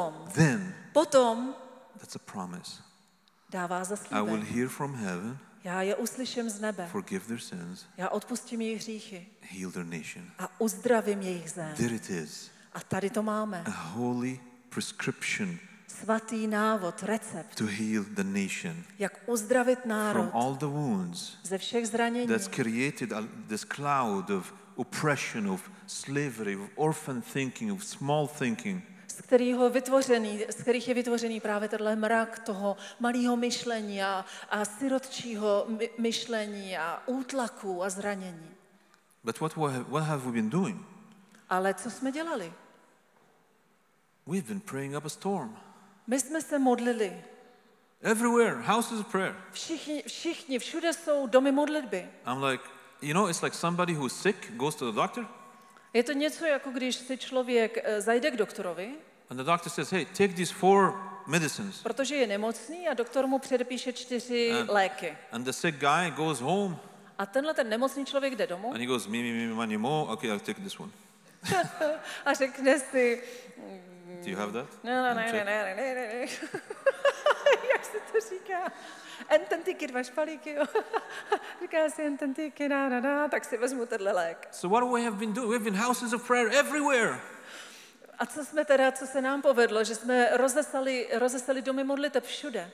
potom that's a promise. dává I will zaslíbení. hear from heaven, Já je uslyším z nebe, forgive their sins, já odpustím jejich hříchy heal their nation. a uzdravím jejich zem. There it is, A tady to máme. a holy prescription Svatý návod, recept, to heal the nation jak uzdravit národ from all the wounds ze všech zranění, that's created this cloud of oppression, of slavery, of orphan thinking, of small thinking. z kterých je vytvořený právě tenhle mrak toho malého myšlení a sirotčího myšlení a útlaku a zranění. But what have we been doing? Ale co jsme dělali? We've been praying up a storm. My jsme se modlili. Everywhere, houses of prayer. Všichni, všude jsou domy modlitby. I'm like, you know, it's like somebody who's sick goes to the doctor, Je to něco, jako když si člověk zajde k doktorovi, and the doctor says, hey, take these 4 medicines. protože je nemocný a doktor mu předepíše 4 léky. And the sick guy goes home, A tenhle ten nemocný člověk jde domů and he goes, me, money, mo. Okay, I'll take this one. a řekne si, Do you have that? ne. Jak se to říká? Ententyky, 2 špalíky, jo. Říká si ententyky, tak si vezmu tenhle lék. So what we have been doing? We've been houses of prayer everywhere. A co se nám povedlo, že jsme rozesali domy modliteb všude.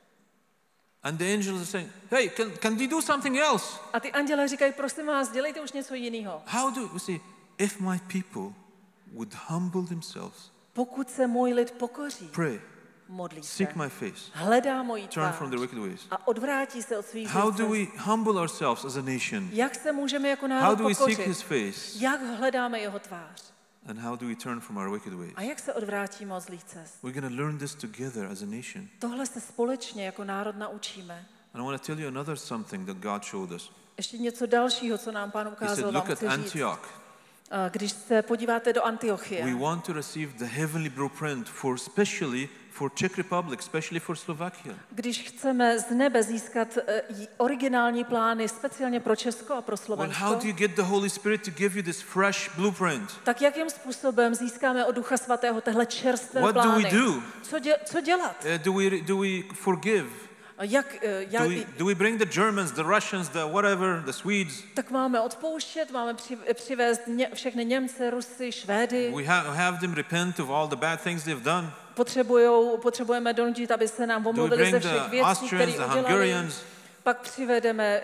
And the angels are saying, hey, can they do something else? A ty anděle říkají, prosím vás, dělejte už něco jiného. How do we see? If my people would humble themselves, Pokud se můj lid pokoří, pray, modlí se, seek my face, hledá moji turn tvář from their wicked ways. a odvrátí se od svých How zlých do cest. we humble ourselves as a nation? Jak se můžeme jako How národ do we seek his pokořit? face? Jak hledáme jeho tvář? And how do we turn from our wicked ways? A jak se odvrátíme od zlých cest? We're going to learn this together as a nation. Tohle se společně jako národ naučíme. And I want to tell you another something that God showed us. Ještě něco dalšího, co nám Pán He ukázal, said, vám look at chci říct. Antioch. Když se podíváte do We Antiochie, want to receive the heavenly blueprint especially for Czech Republic, especially for Slovakia. když chceme z nebe získat originální plány speciálně pro Česko a pro Well, Slovensko, how do you get the Holy Spirit to give you this fresh blueprint? tak jakým způsobem získáme od Ducha Svatého tehle čerstvé What do we plány? do? Co dělat? Do we forgive? Do we bring the Germans, the Russians, the whatever, the Swedes? Tak máme odpouštět, máme přivést všechny Němce, Rusy, Švédy. We have them repent of all the bad things they've done. Potřebujeme donutit, aby se nám Do we omluvili ze bring všech the věcí, které Austrians, the udělali. Hungarians? Pak přivedeme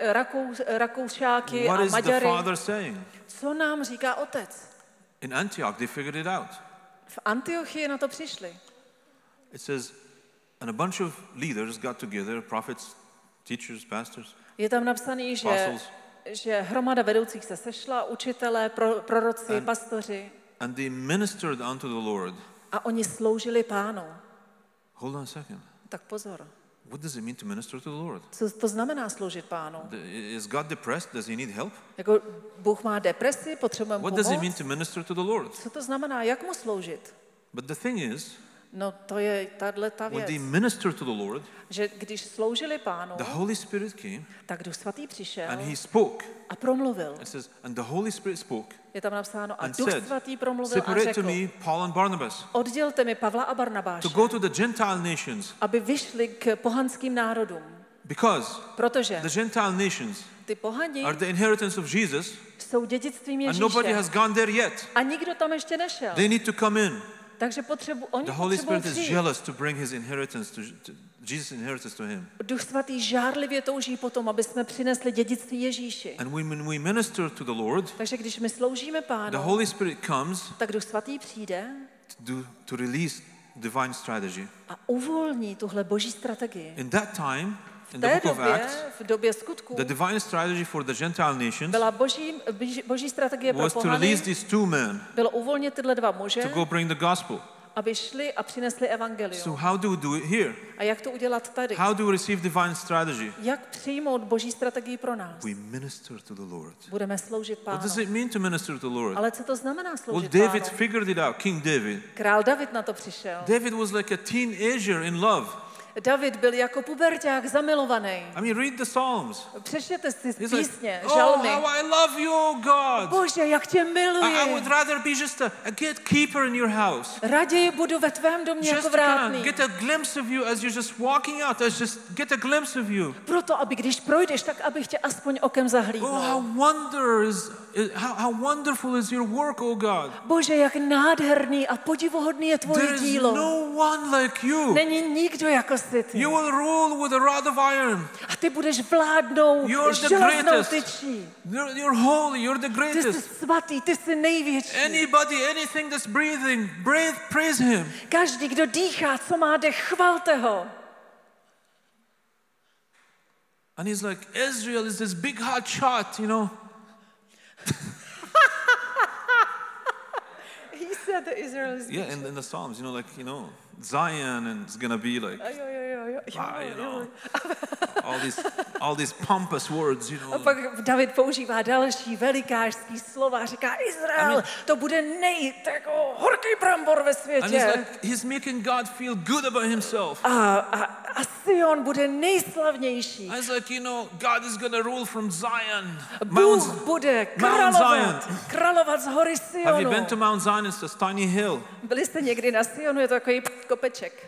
Rakoušáky What a is the Maďary. Father saying? Co nám říká Otec? In Antioch, they figured it out. V Antiochii na to přišli. It says, and a bunch of leaders got together, prophets, teachers, pastors, Je tam napsaný, apostles, že hromada vedoucích se sešla, učitelé, proroci, pastoři, and they ministered unto the Lord. a oni sloužili Pánu. Hold on a second. Tak pozor. What does it mean to minister to the Lord? Co to znamená sloužit Pánu? Is God depressed? Does he need help? Jako Bůh má depresi, potřebujeme What does it mean pomoc? to minister to the Lord? Co to znamená, jak mu sloužit? But the thing is, No to je ta when věc, they ministered to the Lord, že když sloužili Pánu, the Holy Spirit came tak Duch Svatý přišel and he spoke. a promluvil. It says, and the Holy Spirit spoke Je tam napsáno, a and Duch said, Svatý promluvil a separate to řekl, me Paul and Barnabas oddělte mi Pavla a Barnabáše, to go to the Gentile nations, aby vyšli k pohanským národům. because Protože the Gentile nations ty pohani are the inheritance of Jesus jsou dědictvím and nobody Ježíše has gone there yet. a nikdo tam ještě nešel. They need to come in. Takže oni The Holy potřebují Spirit is přijít. jealous to bring his inheritance to Jesus' inheritance to him. Duch Svatý žárlivě touží potom, aby jsme přinesli dědictví Ježíši. And when we minister to the Lord, Takže když my sloužíme the Pánu, Holy Spirit comes tak Duch Svatý přijde to release divine strategy. a uvolní tuhle boží strategii. In that time, V in the té book of době, Acts, v době skutků, the divine strategy for the Gentile nations byla boží strategie pro was to pohany, release these two men bylo uvolnit tyhle dva muže, to go bring the gospel. aby šli a přinesli evangelium. So how do we do it here? A jak to udělat tady? How do we receive divine strategy? Jak přijmout boží strategii pro nás? We minister to the Lord. Budeme sloužit What does Pánu. it mean to minister to the Lord? Ale co to znamená Well, sloužit David Pánu? figured it out, King David. Král David na to přišel. David was like a teenager in love. David byl jako puberťák zamilovaný. I mean, read the Psalms. Přečtěte si He's like, písně, oh, žalmy. how I love you, oh God. Bože, jak tě I would miluji. rather be just a gatekeeper in your house. Raději budu ve tvém domě Just jako to kind of vrátný. get a glimpse of you as you're just walking out. Just get a glimpse of you. Proto, aby když projdeš, tak abych tě aspoň okem Oh, zahlídnul. how wonderful is your work, oh God. Bože, jak nádherný a podivuhodný je tvoje There is dílo. no one like you. Není nikdo jako jsi ty. You will rule with a rod of iron. A ty budeš vládnout You're the železnou greatest. tyčí. You're holy. You're the Ty jsi greatest. svatý, ty jsi největší. Anybody, anything that's breathing, praise Him. Každý, kdo dýchá, co má dech, chvalte ho. And he's like, Israel is this big hot shot, you know. He said that Israel is... Yeah, in the Psalms, you know, like, Zion, and it's gonna be like, Jo. all these pompous words, A pak David používá další velikářský slova, říká Izrael, to bude jako horký brambor ve And he's světě. like, he's making God feel good about himself. A Sion bude nejslavnější. And it's like, God is gonna rule from Zion. Bůh bude královat z hory Have you been to Sionu. Mount Zion? It's this tiny hill. Byli jste někdy na Sionu, je to takový kopeček.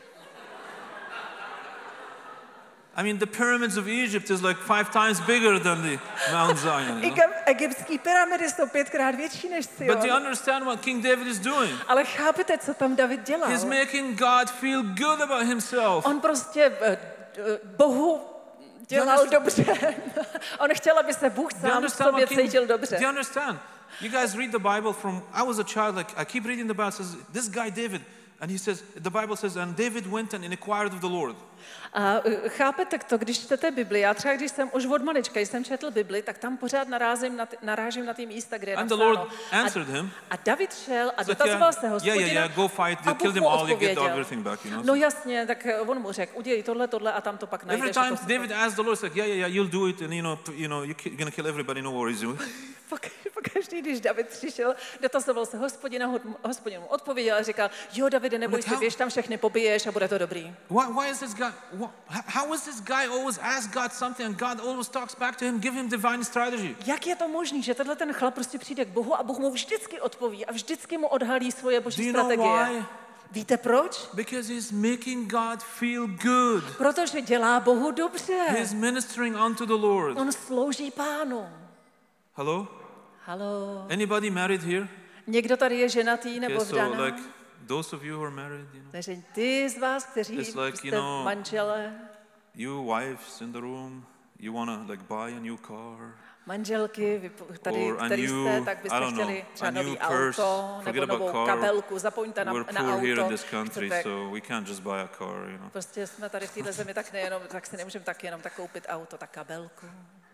I mean, the pyramids of Egypt is like 5 times bigger than the Mount Zion. Egyptské pyramidy jsou 5krát větší než But do you Sion. understand what King David is doing? Ale chápete, co tam David dělal? He's making God feel good about himself. On prostě Bohu dělal dobře. On chtěl, aby se Bůh Do you sám v understand sobě what King? cítil Do dobře. you understand? You guys read the Bible from. I was a child. Like I keep reading the Bible. It says this guy David, and he says the Bible says, and David went and inquired of the Lord. A chápete to, když čtete Bibli, já třeba když jsem už od malička, když jsem četl Bibli, tak tam pořád narážím na ty místa, kde je And the napsáno. Lord answered him. A David šel a It's like, dotazoval se Hospodina. yeah, go fight. A You kill Bůh them mu all. You get odpověděl. everything back. No jasně, tak on mu řekl, udělej tohle a tam to pak Every najdeš. time David asked the Lord, it's like, yeah, you'll do it, and you're gonna kill everybody. No worries. Pokaždý, když David přišel, dotazoval se Hospodina, Hospodin mu odpověděl a říkal, jo, Davide, neboj se, běž tam všechny pobiješ a bude to dobrý. Why is this guy? How is this guy always ask God something and God always talks back to him, give him divine strategy? Jak je to možné, že tenhle ten chlap prostě přijde k Bohu a Bůh mu vždycky odpoví a vždycky mu odhalí svoje Do boží you know strategie? why? Víte proč? Because he's making God feel good. Protože dělá Bohu dobře. He's ministering unto the Lord. On slouží Pánu. Hello? Haló. Anybody married here? Někdo tady je ženatý nebo Okay, so vdaná? like those of you who are married, you know, Takže ty z vás, kteří It's like, jste you know, manželé, you wives in the room, you wanna like buy a new car, manželky, tady, or a který new, jste, tak I byste don't know, chtěli třeba a new nový purse. auto, Forget nebo about novou car. kabelku, zapomeňte na We're poor here in auto. this country, Chcete, so we can't just buy a car, you know. prostě jsme tady v této zemi, tak si nemůžeme tak jenom tak koupit auto, tak kabelku.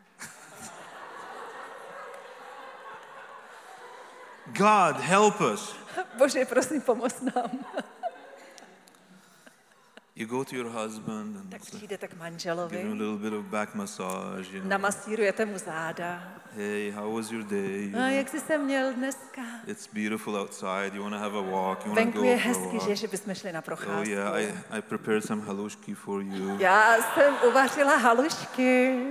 God, help us. Bože, prosím, pomoz nám. You go to your husband and Tak it's like, přijdete k give him a manželovi, little bit of back massage, you know. namasírujete mu záda. Hey, how was your day? You A know, jak jsi se měl dneska? it's beautiful outside. You wanna have a walk? You wanna Venku go je for a hezky, walk? že bychom šli na Oh procházku. yeah, I prepared some halušky for you. Já jsem uvařila halušky.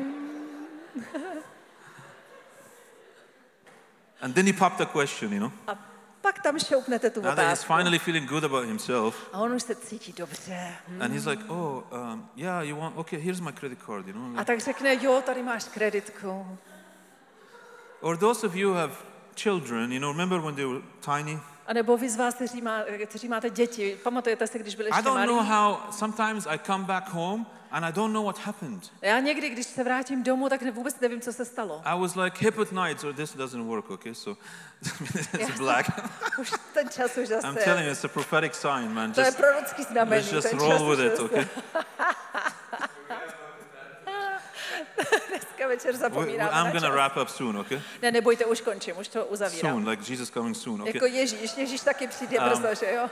And then he popped a question, you know. A pak tam šoupnete tu Now that he's otázku. finally feeling good about himself, A on už se cítí dobře. and he's like, oh, yeah, you want? Okay, here's my credit card, you know. A tak řekne, jo, tady máš kreditku. Or those of you who have children, you know, remember when they were tiny? A nebo vy z vás, kteří máte děti, pamatujete si, když byli I ještě don't know malí? how. Sometimes I come back home and I don't know what happened. Já někdy, když se vrátím domů, tak vůbec nevím, co se stalo. I was like hip at night, or this doesn't work, okay? So it's black. Už ten čas už I'm zase. telling you, it's a prophetic sign, man. To je Just prorocký znamení. let's just ten roll čas with už it, zase. okay? Dneska večer I'm zapomínáme na gonna čas. wrap up soon, okay? Ne, nebojte, už končím, už to uzavírám. Soon, like Jesus coming soon, okay? Jako Ježíš taky přijde brzo, že jo?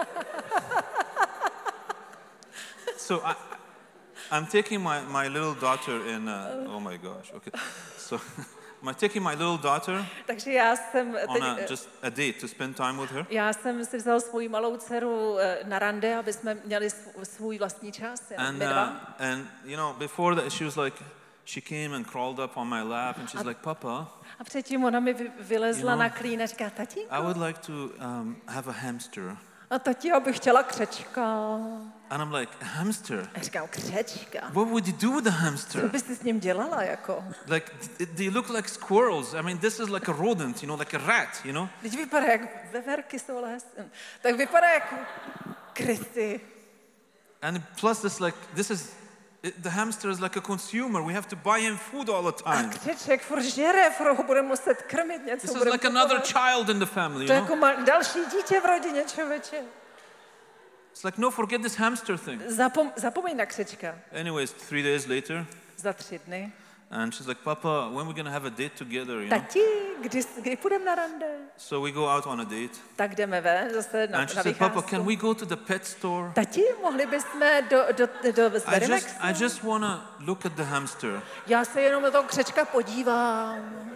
So I'm taking my little daughter in. Oh my gosh, okay. So I'm taking my little daughter Takže já jsem on teď, just a date to spend time with her. já jsem si vzal svou malou dceru na rande, aby jsme měli svůj vlastní čas, jenom my dva. And you know, before that, she was like, she came and crawled up on my lap, and she's like, Papa, A předtím ona mi vylezla You know, na klín a říká, tatínku, I would like to have a hamster. a tati, já bych chtěla křečka. And I'm like, a hamster? A říkám, křečka? What would you do with a Co hamster? bys ty s ním dělala, jako? Like, they look like squirrels. I mean, this is like a rodent, you know, like a rat, you know? Teď vypadá jak veverky jsou hezké. Tak vypadá jak krysy. And plus, the hamster is like a consumer. We have to buy him food all the A time. křeček furt žere, furt ho budeme muset krmit, něco This is budeme like another kupovat. child in the family, To you je know? jako další dítě v rodině, člověče. It's like, no, forget this hamster thing. Zapomeň na křečka. Anyways, 3 days later, Za 3 dny. and she's like, Papa, when we're gonna have a date together, you know? Tati, kdy půjdeme na rande? So we go out on a date. Tak jdeme ven, zase na And she said, Papa, can vycházku. we go to the pet store? Tati, mohli bychom do Zverimexu? I just wanna look at the hamster. Já se jenom na toho křečka podívám.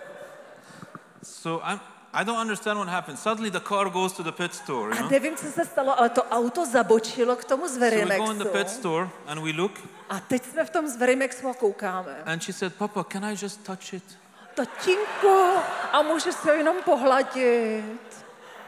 So I don't understand what happened. Suddenly the car goes to the pet store, you A know? nevím, co se stalo, ale to auto zabočilo k tomu So we go in the pet Zverimexu. store and we look, A teď jsme v tom Zverimexu a koukáme. and she said, Papa, can I just touch it? Tatínku, a můžu se jenom pohladit.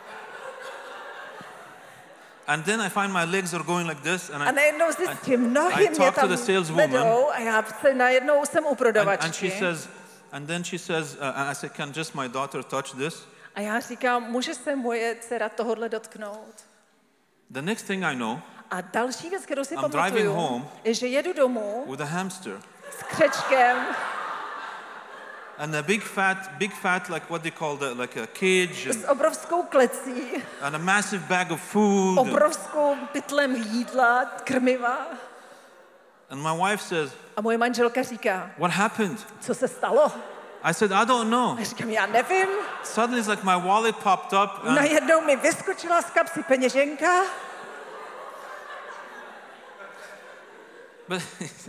And then I find my legs are going like this, and A najednou zjistím, nohy I mě talk to tam the saleswoman. vedou a já se najednou jsem u and prodavačky. then she says, I said, can just my daughter touch this? A já říkám, může se moje dcera tohodle dotknout? The next thing I know, A další věc, kterou si I'm driving pamatuju, home je, že jedu domů with a hamster. s křečkem And a big fat, like what they call like a cage, s obrovskou klecí, and a massive bag of food. obrovskou pytlem jídla, krmiva. And my wife says, A moje manželka říká, what happened? co se stalo? I said, I don't know. A říkám, já nevím. Suddenly it's like my wallet popped up, and Najednou mi vyskočila z kapsy peněženka. but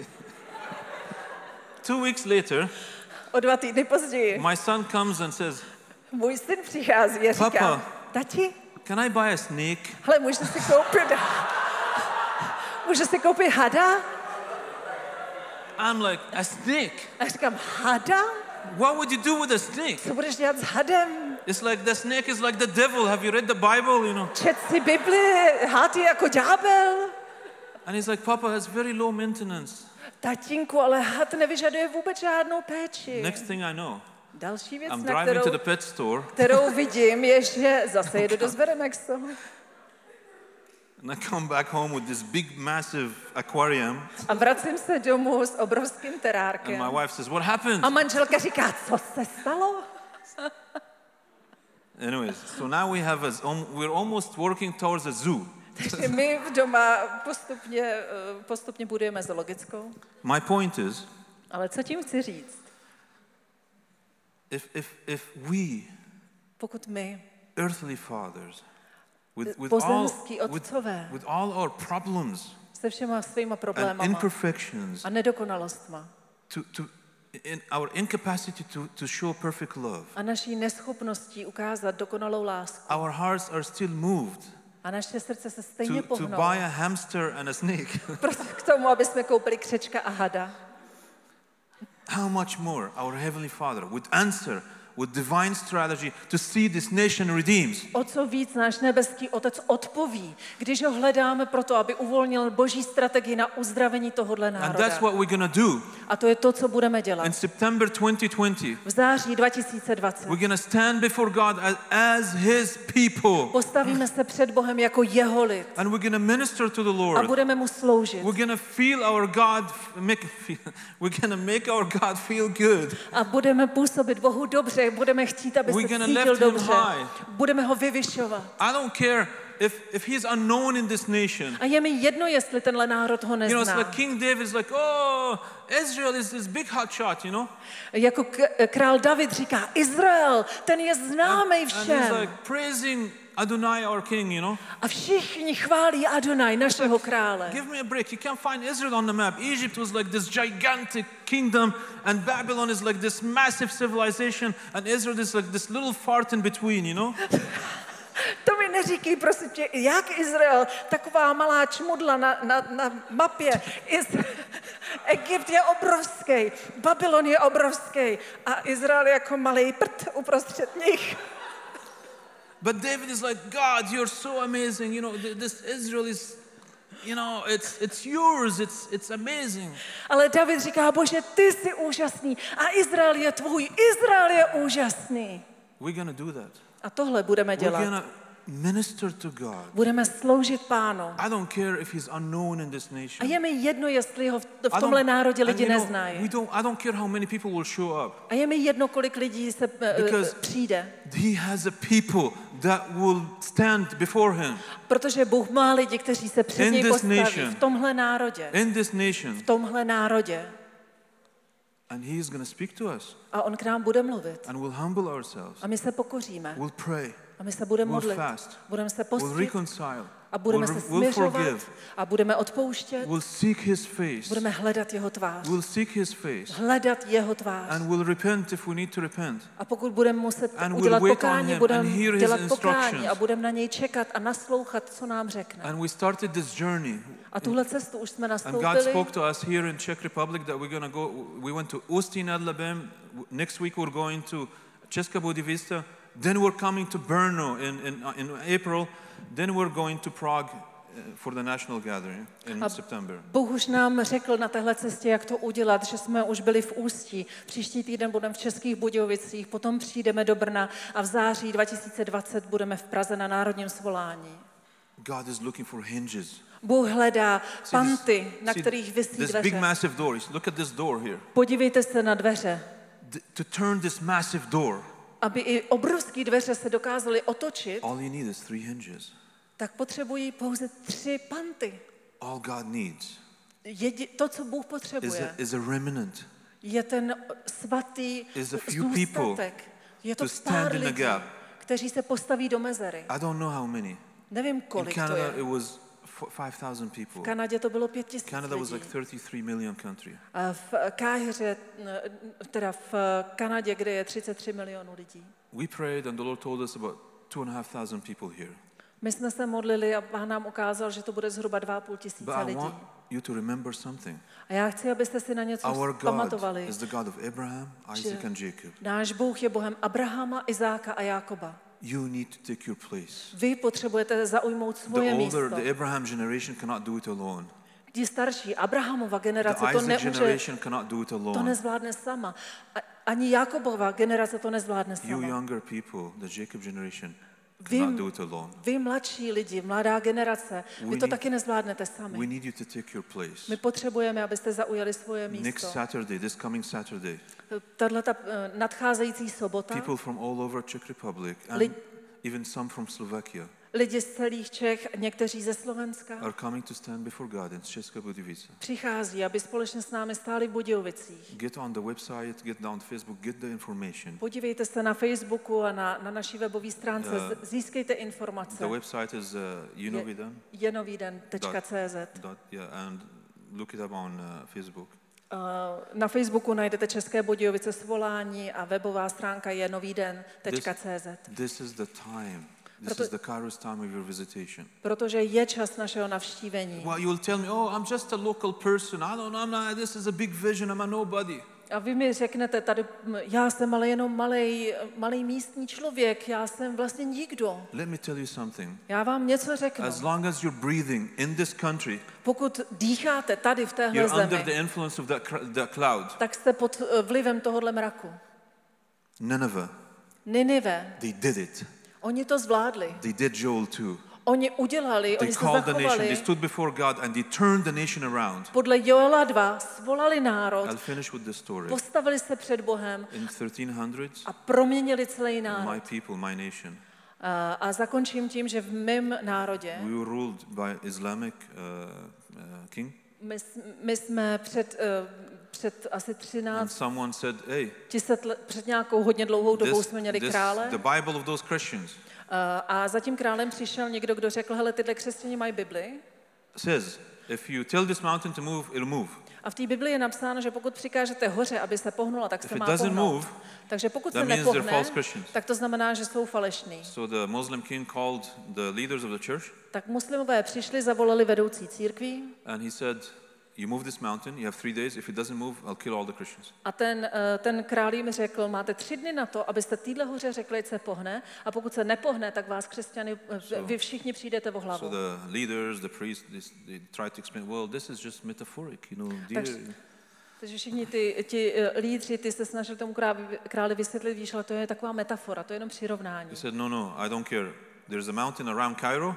2 weeks later, O 2 týdny později my son comes and says, můj syn přichází a říká, Papa. tati, can I buy a snake? hele, můžu si koupit hada? I'm like, a snake? A říkám, hada? What would you do with a snake? Co budeš dělat s hadem? It's like the snake is like the devil. Have you read the Bible, you know? Čet si Bibli, had je jako ďábel. And he's like, Papa, that's very low maintenance. Tatínku, ale had nevyžaduje vůbec žádnou péči. Next thing I know, Další věc, I'm na driving to the pet store kterou vidím, je, že zase jedu do Zveremexu. and I come back home with this big, massive aquarium. A vracím se domů s obrovským And terárkem. my wife says, what happened? A manželka říká, co se stalo? Anyways, so now we're almost working towards a zoo. Takže my v doma postupně budujeme zoologickou. My point is, Ale co tím chci říct? if we, Pokud my, earthly fathers, pozemský otcové, with all our problems se všema svýma and problémama imperfections, a nedokonalostma in our incapacity to show perfect love, a naší neschopností ukázat dokonalou lásku our hearts are still moved a naše srdce se stejně to pohnou buy a hamster and a snake. prostě k tomu, aby jsme koupili křečka a hada. How much more our Heavenly Father would answer with divine strategy to see this nation redeemed. O co víc náš nebeský Otec odpoví, když ho hledáme proto, aby uvolnil boží strategii na uzdravení tohohle And národa. that's what we're going to do. A to je to, co budeme dělat. In September 2020, V září 2020 we're going to stand before God as His people. postavíme se před Bohem jako jeho lid And we're going to minister to the a Lord. budeme mu sloužit. We're going to feel our God, we're going to make our God feel good. A budeme působit Bohu dobře, budeme chtít, aby We're se gonna cítil lift him dobře. high. Budeme ho vyvyšovat. I don't care if he's unknown in this nation. A je mi jedno, jestli tenhle národ ho You know, it's nezná. like King David is like, oh, Israel is this big hot shot, you know? Jako král David říká, Izrael, ten je známý And he's všem. like praising Adonai, our king, you know? A všichni chválí Adonai, našeho krále. Give me a break. You can't find Israel on the map. Egypt was like this gigantic kingdom, and Babylon is like this massive civilization, and Israel is like this little fart in between, you know? To mi neříkej, prosím tě, jak Izrael, taková malá čmudla na mapě. Egypt je obrovský, Babylon je obrovský a Izrael je jako malý prd uprostřed nich. But David is like, God, you're so amazing. You know, this Israel is, you know, it's yours. It's amazing. Ale David říká, Bože, ty jsi úžasný a Izrael je tvůj, Izrael je úžasný. We're gonna do that. A tohle budeme We're dělat. gonna minister to God. Budeme sloužit Pánu. I don't care if he's unknown in this A nation. je mi jedno, jestli ho v I tomhle don't- národě and lidi you know, neznají. I don't care how many people will show up. A je mi jedno, kolik lidí se Because- přijde. He has a people that will stand before him Protože Bůh má lidi, kteří se před In něj this postaví nation. v tomhle národě. in this nation, V tomhle národě. and he is going to speak to us, A on k nám bude mluvit. and we'll humble ourselves. A my se pokoříme. We'll pray. A my se budeme We'll modlit. fast. Budeme se We'll postit reconcile. a budeme se We'll směřovat forgive. a budeme odpouštět. We'll seek his face. Budeme hledat jeho tvář. We'll seek his face. Hledat jeho tvář. And we'll repent if we need to repent. A pokud budeme muset And we'll udělat wait on pokání, him budeme and hear his dělat pokání instructions. a budeme na něj čekat a naslouchat, co nám řekne. And we started this journey. A tuhle cestu už jsme And God nastoupili. spoke to us here in Czech Republic that we're going to go. We went to Ústí nad Labem. Next week we're going to Česká Budějovice. Then we're coming to Brno in April. Then we're going to Prague for the national gathering in September. Bůh už nám řekl na téhle cestě, jak to udělat, že jsme už byli v Ústí. Příští týden budeme v Českých Budějovicích, potom přijdeme do Brna a v září 2020 budeme v Praze na národním svolání. God is looking for hinges. Bůh hledá See panty, na see kterých visí this big dveře. massive door. Look at this door here. Podívejte se na dveře, To turn this massive door, aby i obrovské dveře se dokázaly otočit, all you need is 3 hinges. tak potřebují pouze 3 panty. All God needs To, co Bůh potřebuje, is a remnant je ten svatý is a few people zůstatek. Je to to stand pár in the lidí, gap. kteří se postaví do mezery. I don't know how many. Nevím, In kolik to Canada, je. it was 5,000 people. V Kanadě to bylo 5 000 Canada was like lidí. 33 million country. A v Káhiře, teda v Kanadě, kde je 33 milionů lidí. We prayed and the Lord told us about 2,500 people here. My jsme se modlili a Pán nám ukázal, že to bude zhruba 2 500 But lidí. you to remember something. A já chci, abyste si na něco Our God pamatovali. is the God of Abraham, Isaac and Jacob. Náš Bůh je Bohem Abrahama, Izáka a Jákoba. You need to take your place. Vy potřebujete zaujmout svoje místo. The Abraham generation cannot do it alone. Ti starší, Abrahamova generace The to Isaac nemůže, generation cannot do it to alone. nezvládne sama. Ani Jakobova generace to nezvládne You sama. younger people, the Jacob generation, Vy, cannot do it alone. vy mladší lidi, mladá generace, vy to taky nezvládnete We sami. need you to take your place. My potřebujeme, abyste zaujali svoje Next místo. Saturday, this coming Saturday, Tato nadcházející sobota, people from all over Czech Republic and Lid- even some from Slovakia lidi z celých Čech, někteří ze Slovenska, are coming to stand before God in Česká Budějovice. přichází, aby společně s námi stáli v Budějovicích. Get on the website, get down Facebook, get the information. Podívejte se na Facebooku a na naší webové stránce, získejte informace. The website is jenoviden.cz. and look it up on Facebook. Na Facebooku najdete České Budějovice svolání a webová stránka je noviden.cz. This is the time. This is the Kairos time of your visitation. Protože je čas našeho navštívení. Well, you will tell me, oh, I'm just a local person. I'm not, this is a big vision. I'm a nobody. A vy mi řeknete tady, já jsem ale jenom malej místní člověk, já jsem vlastně nikdo. Let me tell you something. Já vám něco řeknu. As long as you're breathing in this country, Pokud dýcháte tady v téhle you're under zemi, the influence of that cloud. tak jste pod vlivem tohohle mraku. Nineveh, Ninive, they did it. oni to zvládli. They did Joel too. Oni udělali, They oni se called the nation. They zachovali. stood before God and they turned the nation around. Podle Joela 2 svolali národ, I'll finish with the story. postavili se před Bohem In 1300s, a proměnili celý národ. my people, my nation, A zakončím tím, že v mém národě, we were ruled by Islamic king. my jsme před asi And 13 someone said, hey, před nějakou hodně dlouhou dobou jsme měli krále. the Bible of those Christians A za tím králem přišel někdo, kdo řekl, hele, tyhle křesťané mají Bibli. says, if you tell this mountain to move, it'll move. A v té Bibli je napsáno, že pokud přikážete hoře, aby se pohnula, tak se If má it doesn't pohnout. move, Takže pokud that se means they're nepohne, false Christians. tak to znamená, že jsou falešní. So the Muslim king called the leaders of the church Tak muslimové přišli, zavolali vedoucí církví and he said, you move this mountain, you have 3 days. If it doesn't move, I'll kill all the Christians. a ten král jim řekl, máte 3 dny na to, abyste týhle hoře řekli, ať se pohne, a pokud se nepohne, tak vás křesťany, vy všichni přijdete o hlavu. So the leaders, the priests, they tried to explain, well, this is just metaphoric, Takže všichni ti lídři, ty se snažili tomu králi vysvětlit, víš, ale to je taková metafora, to je jenom přirovnání. He said, no, I don't care. There's a mountain around Cairo.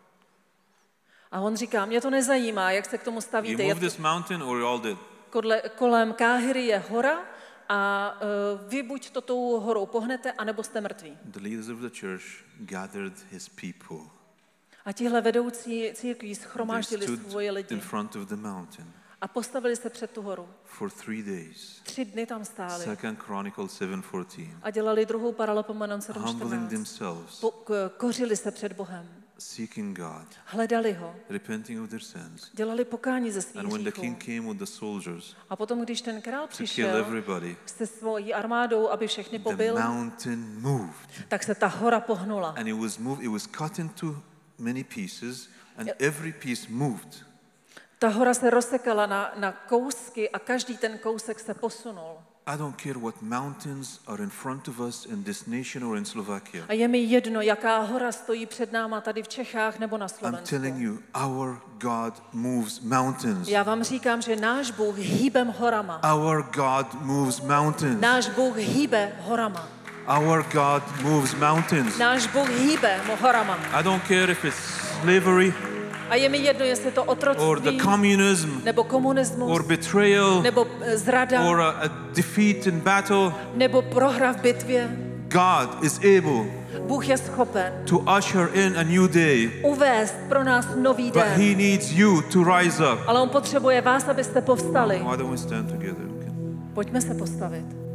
A on říká, mě to nezajímá, jak se k tomu You stavíte. move this mountain or you're all dead. Kolem Káhiry je hora a vy buď to tou horou pohnete, anebo jste mrtví. The leaders of the church gathered his people. A tihle vedoucí církví They schromáždili stood svoje in lidi front of the mountain a postavili se před tu horu. for 3 days. 3 dny tam stáli 2 Chronicles 7:14. a dělali druhou Paralelpomenon Humbling 7.14. themselves, Kořili se před Bohem, seeking God, hledali ho, repenting of their sins. dělali pokání ze svých And when the hříchů. king came with the soldiers A potom, když ten král to kill přišel everybody, se svojí armádou, aby všechny the pobil, mountain moved. tak se ta hora pohnula. And it was cut into many pieces, and every piece moved. Ta hora se rozsekala na kousky a každý ten kousek se posunul. I don't care what mountains are in front of us in this nation or in Slovakia. A je mi jedno, jaká hora stojí před náma tady v Čechách nebo na I'm Slovensku. telling you, our God moves mountains. Já vám říkám, že náš Bůh hýbem horama. Our God moves mountains. Náš Bůh hýbe horama. Our God moves mountains. Náš Bůh hýbe horama. I don't care if it's slavery A je mi jedno, jestli to or otroctví, the communism nebo komunismus, or betrayal nebo zrada, or a defeat in battle. nebo prohra v bitvě. God is able Bůh je schopen to usher in a new day, uvést pro nás nový but den. He needs you to rise up. Ale on potřebuje vás, abyste povstali. Why don't we stand together? Pojďme se postavit.